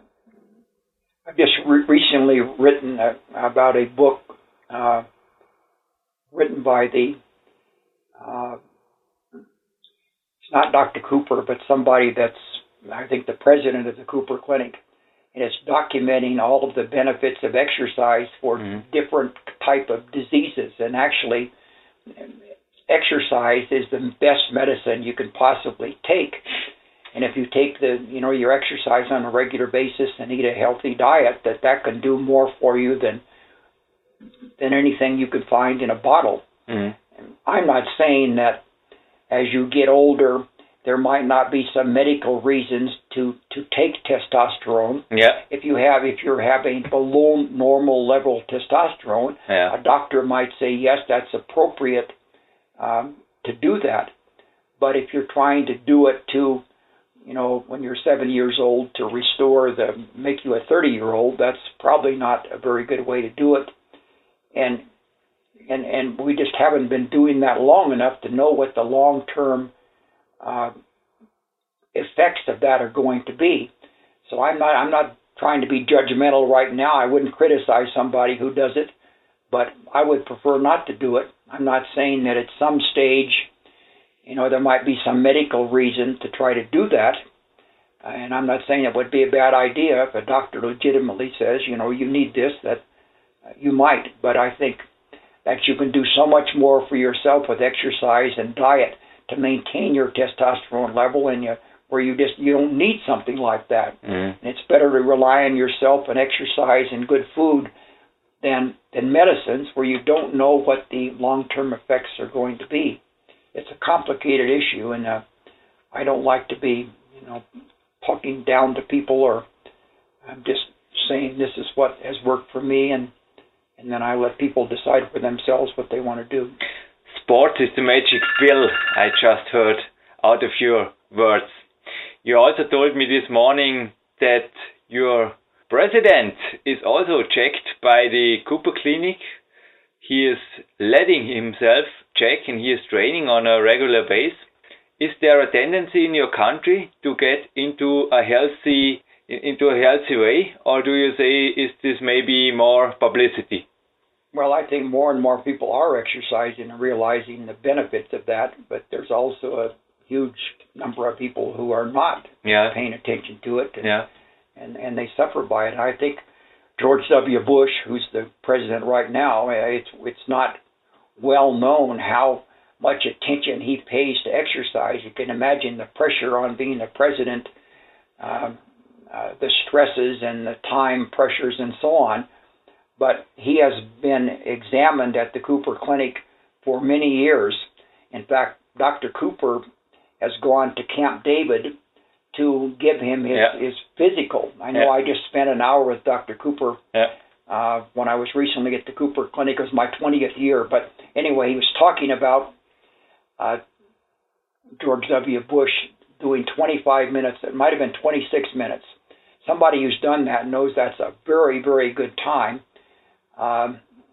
I've just re- recently written a, about a book uh, written by the, uh, it's not Doctor Cooper, but somebody that's, I think, the president of the Cooper Clinic. And it's documenting all of the benefits of exercise for mm-hmm. different type of diseases. And actually, exercise is the best medicine you can possibly take. And if you take the, you know, your exercise on a regular basis and eat a healthy diet, that that can do more for you than than anything you could find in a bottle. Mm-hmm. I'm not saying that as you get older, there might not be some medical reasons to, to take testosterone. Yeah. If you have, if you're having below normal level testosterone, yeah. a doctor might say yes, that's appropriate um, to do that. But if you're trying to do it to, you know, when you're seventy years old to restore the, make you a thirty year old, that's probably not a very good way to do it. And and and we just haven't been doing that long enough to know what the long term Uh, effects of that are going to be. So I'm not I'm not trying to be judgmental right now. I wouldn't criticize somebody who does it, but I would prefer not to do it. I'm not saying that at some stage, you know, there might be some medical reason to try to do that, and I'm not saying it would be a bad idea if a doctor legitimately says, you know, you need this, that uh, you might, but I think that you can do so much more for yourself with exercise and diet to maintain your testosterone level, and you, where you just you don't need something like that. Mm-hmm. And it's better to rely on yourself and exercise and good food than than medicines where you don't know what the long-term effects are going to be. It's a complicated issue, and uh, I don't like to be, you know, talking down to people, or I'm just saying this is what has worked for me, and and then I let people decide for themselves what they want to do. Sport is the magic pill, I just heard out of your words. You also told me this morning that your president is also checked by the Cooper Clinic. He is letting himself check and he is training on a regular basis. Is there a tendency in your country to get into a healthy into a healthy way, or do you say is this maybe more publicity? Well, I think more and more people are exercising and realizing the benefits of that, but there's also a huge number of people who are not yeah. paying attention to it, and, yeah. and and they suffer by it. I think George W. Bush, who's the president right now, it's it's not well known how much attention he pays to exercise. You can imagine the pressure on being the president, uh, uh, the stresses and the time pressures and so on. But he has been examined at the Cooper Clinic for many years. In fact, Doctor Cooper has gone to Camp David to give him his, yeah. his physical. I know yeah. I just spent an hour with Doctor Cooper yeah. uh, when I was recently at the Cooper Clinic. It was my twentieth year. But anyway, he was talking about uh, George W. Bush doing twenty-five minutes. It might have been twenty-six minutes. Somebody who's done that knows that's a very, very good time. Um,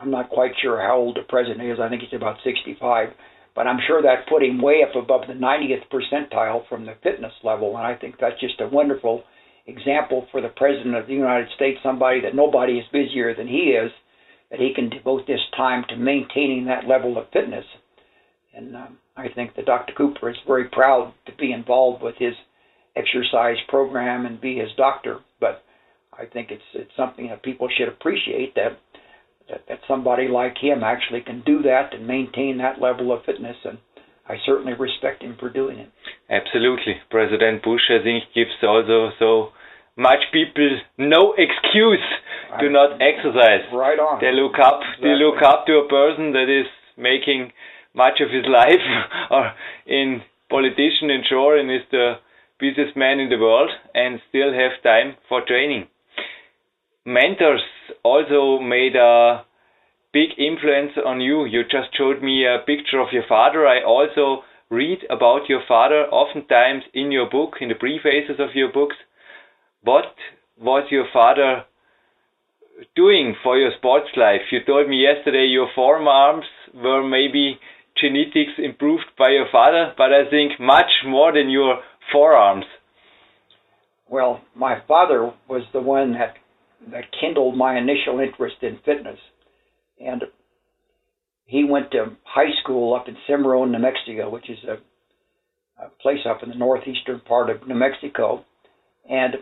I'm not quite sure how old the president is. I think he's about sixty-five. But I'm sure that put him way up above the ninetieth percentile from the fitness level. And I think that's just a wonderful example for the President of the United States, somebody that nobody is busier than he is, that he can devote this time to maintaining that level of fitness. And um, I think that Doctor Cooper is very proud to be involved with his exercise program and be his doctor. But I think it's it's something that people should appreciate, that that, that somebody like him actually can do that and maintain that level of fitness. And I certainly respect him for doing it. Absolutely. President Bush, I think, gives also so much people no excuse to right. not exercise. Right on. They look up. Exactly. They look up to a person that is making much of his life, or in politician and sure, and is the busiest man in the world, and still have time for training. Mentors also made a big influence on you. You just showed me a picture of your father. I also read about your father oftentimes in your book, in the prefaces of your books. What was your father doing for your sports life? You told me yesterday your forearms were maybe genetics improved by your father, but I think much more than your forearms. Well, my father was the one that that kindled my initial interest in fitness. And he went to high school up in Cimarron, New Mexico, which is a, a place up in the northeastern part of New Mexico. And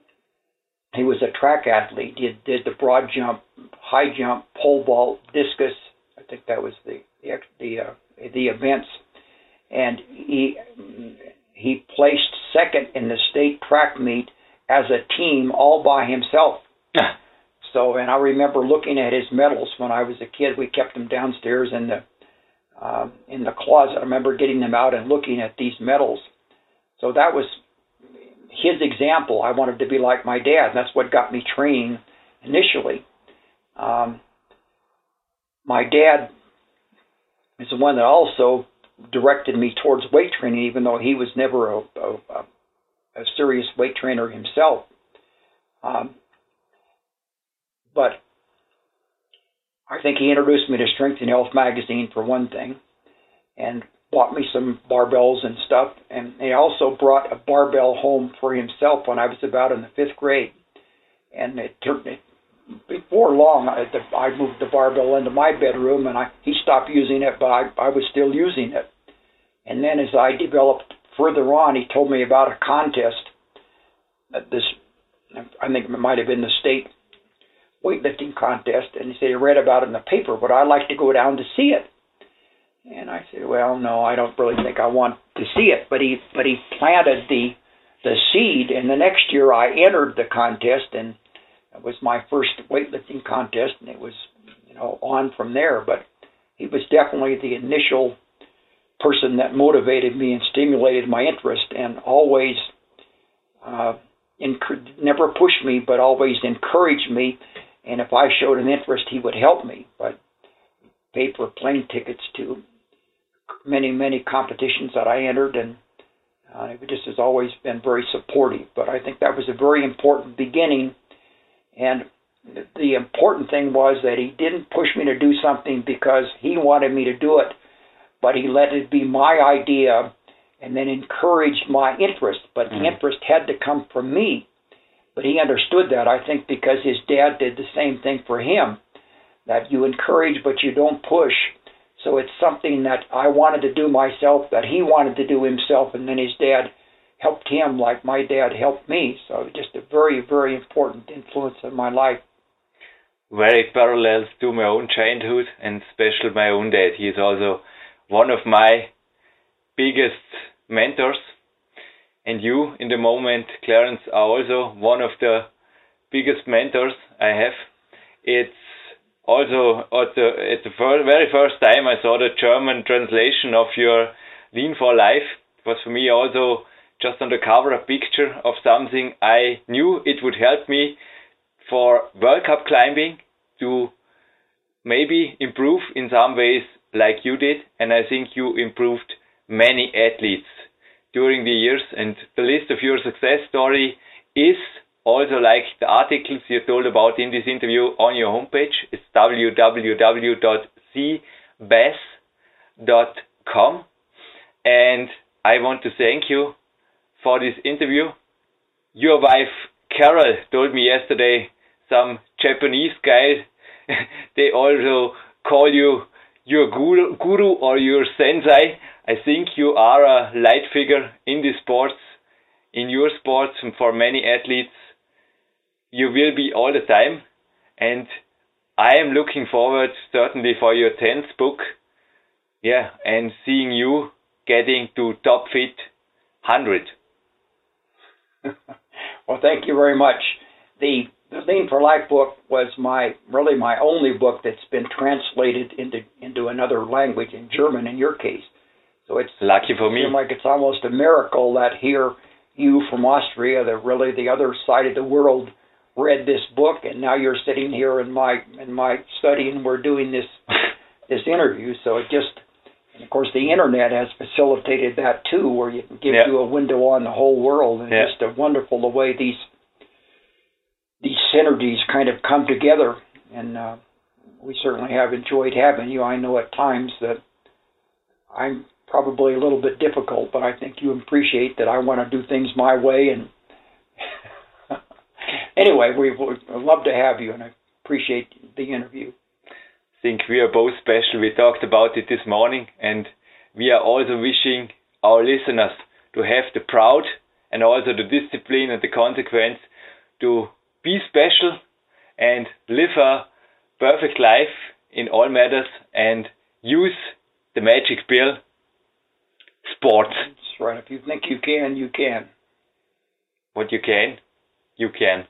he was a track athlete. He did the broad jump, high jump, pole vault, discus. I think that was the the the, uh, the events. And he he placed second in the state track meet as a team all by himself. So, and I remember looking at his medals when I was a kid. We kept them downstairs in the uh, in the closet. I remember getting them out and looking at these medals. So that was his example. I wanted to be like my dad. That's what got me training initially. Um, my dad is the one that also directed me towards weight training, even though he was never a, a, a serious weight trainer himself. Um, But I think he introduced me to Strength and Health magazine for one thing, and bought me some barbells and stuff. And he also brought a barbell home for himself when I was about in the fifth grade. And it took me, before long, I, I moved the barbell into my bedroom, and I, he stopped using it, but I, I was still using it. And then as I developed further on, he told me about a contest. That this, I think it might have been the state weightlifting contest, and he said he read about it in the paper, but I'd like to go down to see it. And I said, well, no, I don't really think I want to see it. But he but he planted the the seed, and the next year I entered the contest, and it was my first weightlifting contest, and it was, you know, on from there. But he was definitely the initial person that motivated me and stimulated my interest, and always uh, enc- never pushed me, but always encouraged me. And if I showed an interest, he would help me. But paid for plane tickets to many, many competitions that I entered, and uh, he just has always been very supportive. But I think that was a very important beginning. And the important thing was that he didn't push me to do something because he wanted me to do it, but he let it be my idea and then encouraged my interest. But mm. the interest had to come from me. But he understood that, I think, because his dad did the same thing for him, that you encourage but you don't push. So it's something that I wanted to do myself, that he wanted to do himself, and then his dad helped him like my dad helped me. So just a very, very important influence in my life. Very parallel to my own childhood, and especially my own dad. He is also one of my biggest mentors. And you, in the moment, Clarence, are also one of the biggest mentors I have. It's also at the, at the first, very first time I saw the German translation of your Lean for Life. It was for me also just on the cover a picture of something I knew it would help me for World Cup climbing to maybe improve in some ways like you did. And I think you improved many athletes during the years, and the list of your success story is also like the articles you told about in this interview on your homepage. It's w w w dot c bass dot com. And I want to thank you for this interview. Your wife Carol told me yesterday some Japanese guys, they also call you your guru, guru or your sensei. I think you are a light figure in the sports, in your sports, and for many athletes. You will be all the time. And I am looking forward certainly for your tenth book. Yeah, and seeing you getting to Top Fit one hundred. Well, thank you very much. The The Lean for Life book was my really my only book that's been translated into into another language, in German in your case. So it's lucky for me. It seems like it's almost a miracle that here you from Austria, the really the other side of the world, read this book, and now you're sitting here in my in my study and we're doing this this interview. So it just, and of course, the internet has facilitated that too, where you can give yeah. you a window on the whole world, and yeah. just a wonderful the way these these synergies kind of come together. And uh, we certainly have enjoyed having you. I know at times that I'm probably a little bit difficult, but I think you appreciate that I want to do things my way. And anyway, we would love to have you, and I appreciate the interview. I think we are both special. We talked about it this morning, and we are also wishing our listeners to have the proud and also the discipline and the consequence to be special and live a perfect life in all matters and use the magic pill, sports. That's right. If you think you can, you can. What you can, you can.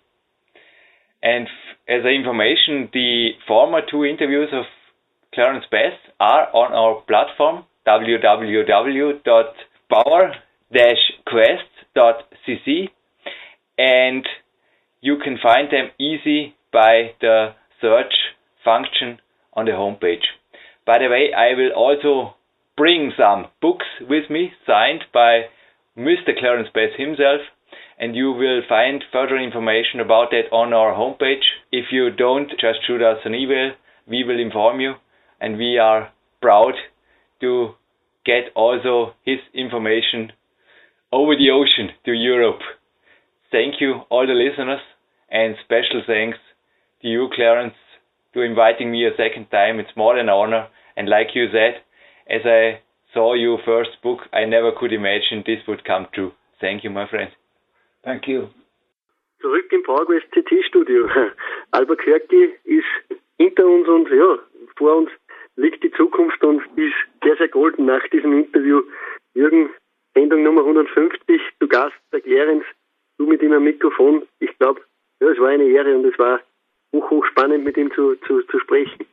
And f- as information, the former two interviews of Clarence Bass are on our platform, w w w dot power dash quest dot c c, and you can find them easy by the search function on the homepage. By the way, I will also bring some books with me, signed by Mister Clarence Bass himself, and you will find further information about that on our homepage. If you don't, just shoot us an email. We will inform you, and we are proud to get also his information over the ocean to Europe. Thank you, all the listeners, and special thanks to you, Clarence, to inviting me a second time. It's more than an honor. And like you said, as I saw your first book, I never could imagine this would come true. Thank you, my friend. Thank you. Zurück im PowerQuest C T-Studio. Albuquerque ist hinter uns und ja, vor uns liegt die Zukunft und ist sehr, sehr golden nach diesem Interview. Jürgen, Sendung Nummer hundertfünfzig, du Gast, der Clarence, du mit ihm am Mikrofon. Ich glaube, ja, es war eine Ehre und es war hoch, hoch spannend, mit ihm zu, zu, zu sprechen.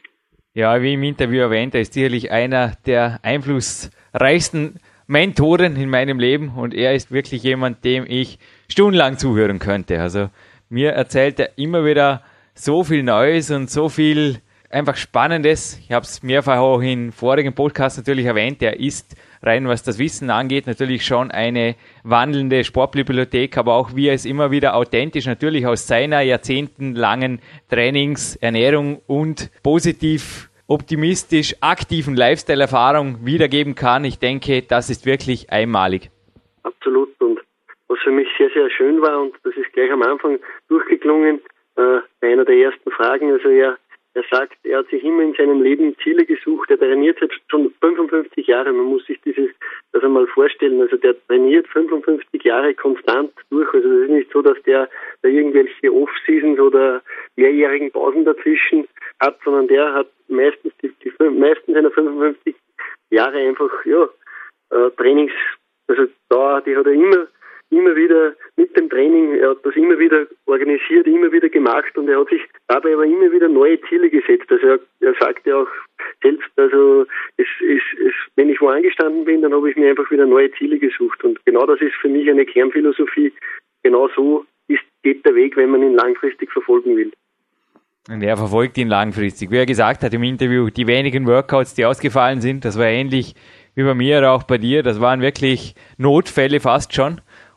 Ja, wie im Interview erwähnt, er ist sicherlich einer der einflussreichsten Mentoren in meinem Leben und er ist wirklich jemand, dem ich stundenlang zuhören könnte. Also mir erzählt er immer wieder so viel Neues und so viel einfach Spannendes. Ich habe es mehrfach auch in vorigen Podcasts natürlich erwähnt. Er ist rein, was das Wissen angeht, natürlich schon eine wandelnde Sportbibliothek, aber auch wie er es immer wieder authentisch natürlich aus seiner jahrzehntelangen Trainings-, Ernährung und positiv, optimistisch, aktiven Lifestyle-Erfahrung wiedergeben kann. Ich denke, das ist wirklich einmalig. Absolut. Und was für mich sehr, sehr schön war, und das ist gleich am Anfang durchgeklungen, äh, bei einer der ersten Fragen, also er Er sagt, er hat sich immer in seinem Leben Ziele gesucht. Er trainiert jetzt schon fünfundfünfzig Jahre. Man muss sich dieses, das einmal vorstellen. Also der trainiert fünfundfünfzig Jahre konstant durch. Also es ist nicht so, dass der da irgendwelche Off-Seasons oder mehrjährigen Pausen dazwischen hat, sondern der hat meistens die, die meisten seiner fünfundfünfzig Jahre einfach, ja, äh, Trainings, also da, die hat er immer immer wieder mit dem Training, er hat das immer wieder organisiert, immer wieder gemacht und er hat sich dabei aber immer wieder neue Ziele gesetzt. Also er, er sagte auch selbst, also es, es, es, wenn ich wo angestanden bin, dann habe ich mir einfach wieder neue Ziele gesucht und genau das ist für mich eine Kernphilosophie. Genau so ist, geht der Weg, wenn man ihn langfristig verfolgen will. Und er verfolgt ihn langfristig. Wie er gesagt hat im Interview, die wenigen Workouts, die ausgefallen sind, das war ähnlich wie bei mir oder auch bei dir, das waren wirklich Notfälle fast schon.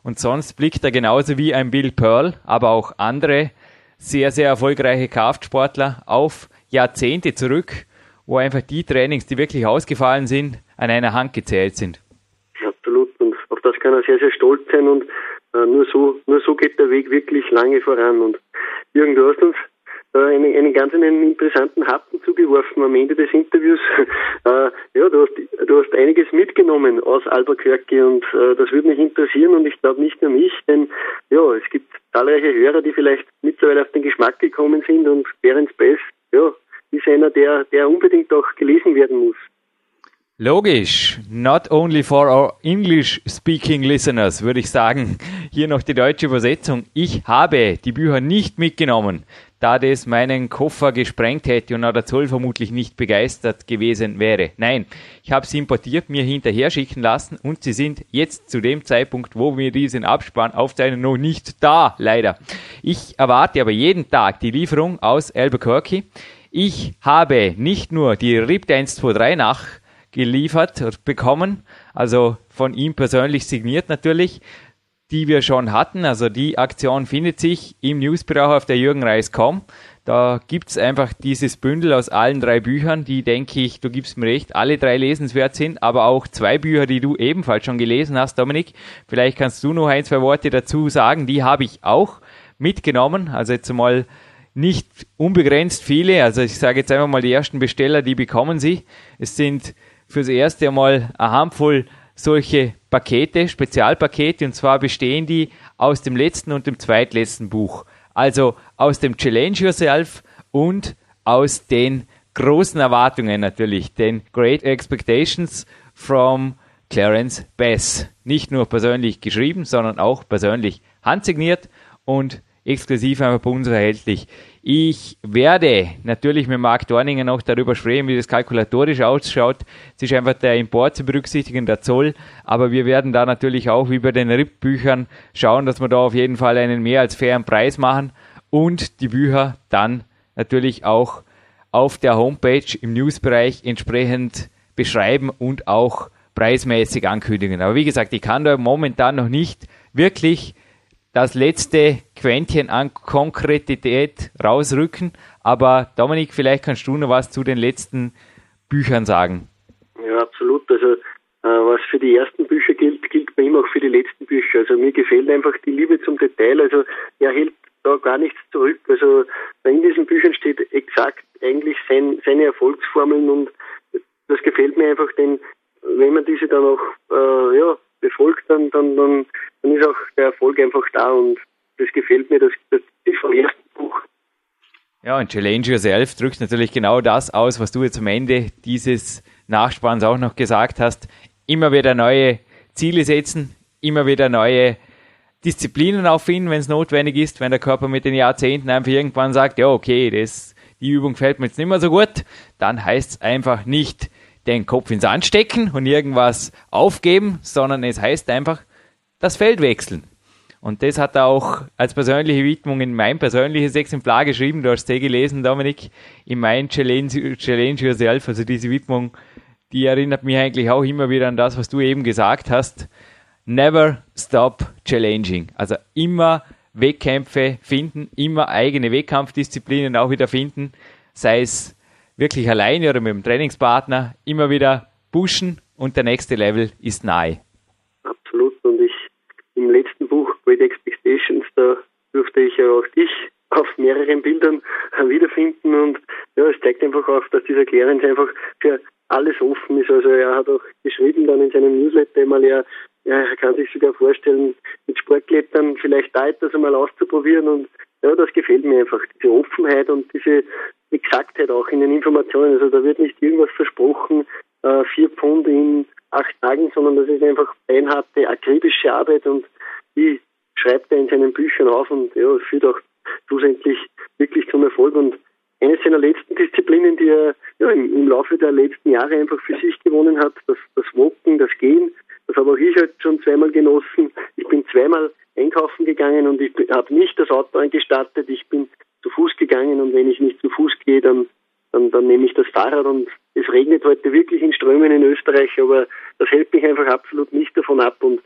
Und sonst blickt er genauso wie ein Bill Pearl, aber auch andere sehr, sehr erfolgreiche Kraftsportler auf Jahrzehnte zurück, wo einfach die Trainings, die wirklich ausgefallen sind, an einer Hand gezählt sind. Absolut. Und auf das kann er sehr, sehr stolz sein. Und äh, nur so nur so geht der Weg wirklich lange voran. Und Jürgen, du hast uns äh, einen, einen ganz einen interessanten Happen zugeworfen am Ende des Interviews. äh, ja, du hast, du hast einiges mitgenommen aus Albuquerque und äh, das würde mich interessieren und ich glaube nicht nur mich, denn ja, es gibt zahlreiche Hörer, die vielleicht mittlerweile auf den Geschmack gekommen sind und Clarence Bass, ja, ist einer, der, der unbedingt auch gelesen werden muss. Logisch, not only for our English-speaking listeners, würde ich sagen. Hier noch die deutsche Übersetzung. Ich habe die Bücher nicht mitgenommen, da das meinen Koffer gesprengt hätte und auch der Zoll vermutlich nicht begeistert gewesen wäre. Nein, ich habe sie importiert, mir hinterher schicken lassen und sie sind jetzt zu dem Zeitpunkt, wo wir diesen Abspann aufzeichnen, noch nicht da, leider. Ich erwarte aber jeden Tag die Lieferung aus Albuquerque. Ich habe nicht nur die R I P eins zwei drei nach geliefert und bekommen, also von ihm persönlich signiert natürlich, die wir schon hatten. Also die Aktion findet sich im Newsbereich auf der jürgen reis punkt com. Da gibt's einfach dieses Bündel aus allen drei Büchern, die, denke ich, du gibst mir recht, alle drei lesenswert sind, aber auch zwei Bücher, die du ebenfalls schon gelesen hast, Dominik. Vielleicht kannst du noch ein, zwei Worte dazu sagen, die habe ich auch mitgenommen, also jetzt mal nicht unbegrenzt viele, also ich sage jetzt einfach mal die ersten Besteller, die bekommen sie. Es sind fürs erste Mal eine Handvoll solche Pakete, Spezialpakete, und zwar bestehen die aus dem letzten und dem zweitletzten Buch. Also aus dem Challenge Yourself und aus den großen Erwartungen natürlich, den Great Expectations from Clarence Bass. Nicht nur persönlich geschrieben, sondern auch persönlich handsigniert und exklusiv einfach bei uns erhältlich. Ich werde natürlich mit Marc Dorninger noch darüber sprechen, wie das kalkulatorisch ausschaut. Es ist einfach der Import zu berücksichtigen, der Zoll, aber wir werden da natürlich auch wie bei den R I P-Büchern schauen, dass wir da auf jeden Fall einen mehr als fairen Preis machen und die Bücher dann natürlich auch auf der Homepage im Newsbereich entsprechend beschreiben und auch preismäßig ankündigen. Aber wie gesagt, ich kann da momentan noch nicht wirklich das letzte Quäntchen an Konkretität rausrücken. Aber Dominik, vielleicht kannst du noch was zu den letzten Büchern sagen. Ja, absolut. Also äh, was für die ersten Bücher gilt, gilt bei ihm auch für die letzten Bücher. Also mir gefällt einfach die Liebe zum Detail. Also er hält da gar nichts zurück. Also in diesen Büchern steht exakt eigentlich sein, seine Erfolgsformeln und das gefällt mir einfach, denn wenn man diese dann auch äh, ja, befolgt, dann, dann, dann, dann ist auch der Erfolg einfach da und das gefällt mir, das, das ist vom ersten Buch. Ja, und Challenge Yourself drückt natürlich genau das aus, was du jetzt am Ende dieses Nachspanns auch noch gesagt hast. Immer wieder neue Ziele setzen, immer wieder neue Disziplinen auffinden, wenn es notwendig ist, wenn der Körper mit den Jahrzehnten einfach irgendwann sagt, ja okay, das, die Übung fällt mir jetzt nicht mehr so gut, dann heißt es einfach nicht den Kopf ins Sand stecken und irgendwas aufgeben, sondern es heißt einfach das Feld wechseln. Und das hat er auch als persönliche Widmung in mein persönliches Exemplar geschrieben. Du hast es gelesen, Dominik, in mein Challenge, Challenge Yourself. Also diese Widmung, die erinnert mich eigentlich auch immer wieder an das, was du eben gesagt hast. Never stop challenging. Also immer Wettkämpfe finden, immer eigene Wettkampfdisziplinen auch wieder finden, sei es wirklich alleine oder mit dem Trainingspartner, immer wieder pushen und der nächste Level ist nahe. Absolut. Und ich im letzten Buch Great Expectations, da durfte ich ja auch dich auf mehreren Bildern wiederfinden und ja, es zeigt einfach auf, dass dieser Clarence einfach für alles offen ist. Also er hat auch geschrieben dann in seinem Newsletter einmal, er, er kann sich sogar vorstellen, mit Sportklettern vielleicht da etwas einmal auszuprobieren und ja, das gefällt mir einfach, diese Offenheit und diese Exaktheit auch in den Informationen. Also da wird nicht irgendwas versprochen, äh, vier Pfund in acht Tagen, sondern das ist einfach beinharte, akribische Arbeit und die schreibt er in seinen Büchern auf und ja, führt auch schlussendlich wirklich zum Erfolg. Und eines seiner letzten Disziplinen, die er ja, im, im Laufe der letzten Jahre einfach für sich gewonnen hat, das, das Walken, das Gehen, das habe auch ich halt schon zweimal genossen. Ich bin zweimal einkaufen gegangen und ich habe nicht das Auto eingestartet, ich bin zu Fuß gegangen und wenn ich nicht zu Fuß gehe, dann, dann, dann nehme ich das Fahrrad und es regnet heute wirklich in Strömen in Österreich, aber das hält mich einfach absolut nicht davon ab und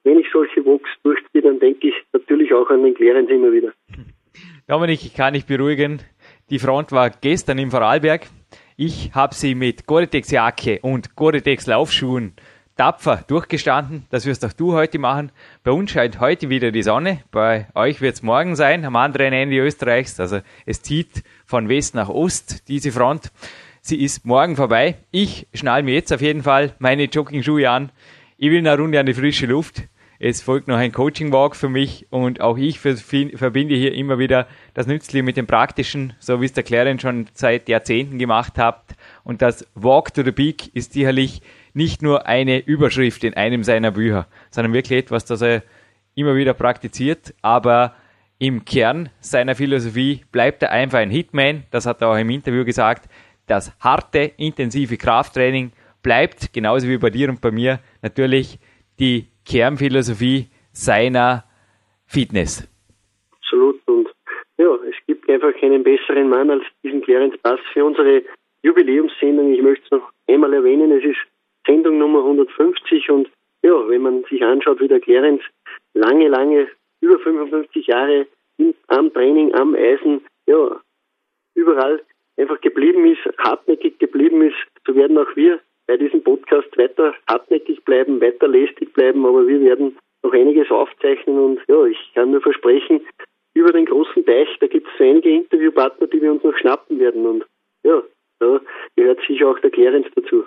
wenn ich solche Walks durchziehe, dann denke ich natürlich auch an den Clarence immer wieder. Dominik, ich kann dich beruhigen. Die Front war gestern im Vorarlberg. Ich habe sie mit Gore-Tex-Jacke und Gore-Tex-Laufschuhen tapfer durchgestanden. Das wirst auch du heute machen. Bei uns scheint heute wieder die Sonne. Bei euch wird es morgen sein, am anderen Ende Österreichs. Also es zieht von West nach Ost, diese Front. Sie ist morgen vorbei. Ich schnall mir jetzt auf jeden Fall meine Jogging-Schuhe an. Ich will eine Runde an die frische Luft. Es folgt noch ein Coaching-Walk für mich und auch ich verbinde hier immer wieder das Nützliche mit dem Praktischen, so wie es der Clarence schon seit Jahrzehnten gemacht hat. Und das Walk to the Peak ist sicherlich nicht nur eine Überschrift in einem seiner Bücher, sondern wirklich etwas, das er immer wieder praktiziert. Aber im Kern seiner Philosophie bleibt er einfach ein Hitman. Das hat er auch im Interview gesagt. Das harte, intensive Krafttraining bleibt, genauso wie bei dir und bei mir, natürlich die Kernphilosophie seiner Fitness. Absolut. Und ja, es gibt einfach keinen besseren Mann als diesen Clarence Bass für unsere Jubiläumssendung. Ich möchte es noch einmal erwähnen, es ist Sendung Nummer hundertfünfzig und ja, wenn man sich anschaut, wie der Clarence lange, lange, über fünfundfünfzig Jahre in, am Training, am Eisen, ja, überall einfach geblieben ist, hartnäckig geblieben ist, so werden auch wir bei diesem Podcast weiter hartnäckig bleiben, weiter lästig bleiben, aber wir werden noch einiges aufzeichnen und ja, ich kann nur versprechen, über den großen Teich, da gibt es so einige Interviewpartner, die wir uns noch schnappen werden und ja, da gehört sicher auch der Clarence dazu.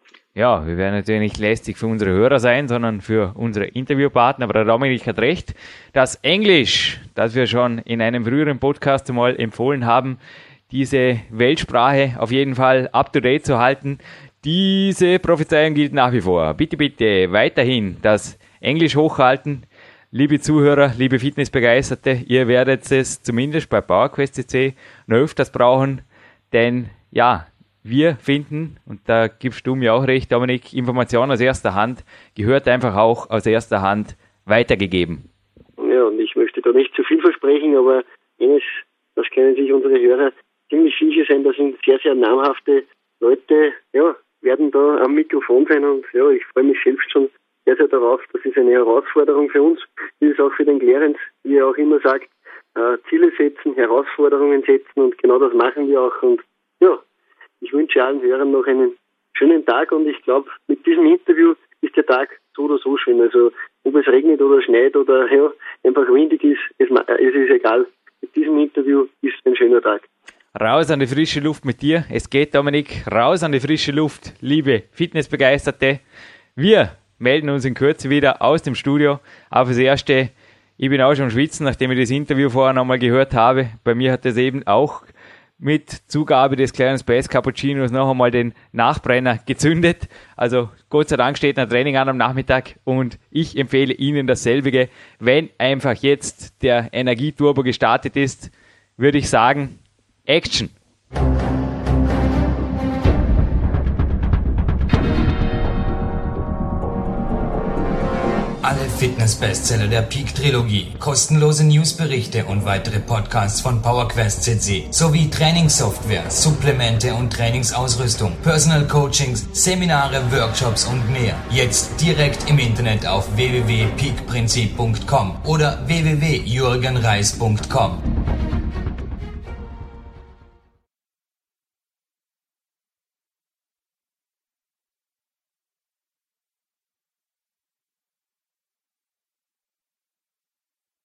Ja, wir werden natürlich nicht lästig für unsere Hörer sein, sondern für unsere Interviewpartner, aber der Dominik hat recht, das Englisch, das wir schon in einem früheren Podcast einmal empfohlen haben, diese Weltsprache auf jeden Fall up-to-date zu halten. Diese Prophezeiung gilt nach wie vor. Bitte, bitte weiterhin das Englisch hochhalten. Liebe Zuhörer, liebe Fitnessbegeisterte, ihr werdet es zumindest bei PowerQuest C C noch öfters brauchen, denn ja, wir finden, und da gibst du mir auch recht, Dominik, Information aus erster Hand gehört einfach auch aus erster Hand weitergegeben. Ja, und ich möchte da nicht zu viel versprechen, aber eines, das können sich unsere Hörer ziemlich sicher sein, das sind sehr, sehr namhafte Leute, ja, werden da am Mikrofon sein und ja, ich freue mich selbst schon sehr, sehr darauf. Das ist eine Herausforderung für uns, wie es auch für den Clarence, wie er auch immer sagt, äh, Ziele setzen, Herausforderungen setzen und genau das machen wir auch und ja, ich wünsche allen Hörern noch einen schönen Tag und ich glaube, mit diesem Interview ist der Tag so oder so schön. Also ob es regnet oder schneit oder ja, einfach windig ist, es, es ist egal. Mit diesem Interview ist ein schöner Tag. Raus an die frische Luft mit dir. Es geht, Dominik, raus an die frische Luft, liebe Fitnessbegeisterte. Wir melden uns in Kürze wieder aus dem Studio. Aber fürs Erste, ich bin auch schon am Schwitzen, nachdem ich das Interview vorher nochmal gehört habe. Bei mir hat es eben auch mit Zugabe des kleinen Space Cappuccinos noch einmal den Nachbrenner gezündet. Also Gott sei Dank steht ein Training an am Nachmittag und ich empfehle Ihnen dasselbige. Wenn einfach jetzt der Energieturbo gestartet ist, würde ich sagen, Action! Alle Fitness-Bestseller der Peak-Trilogie, kostenlose Newsberichte und weitere Podcasts von PowerQuest C C sowie Trainingssoftware, Supplemente und Trainingsausrüstung, Personal Coachings, Seminare, Workshops und mehr. Jetzt direkt im Internet auf w w w punkt peak prinzip punkt com oder w w w punkt jürgen reis punkt com.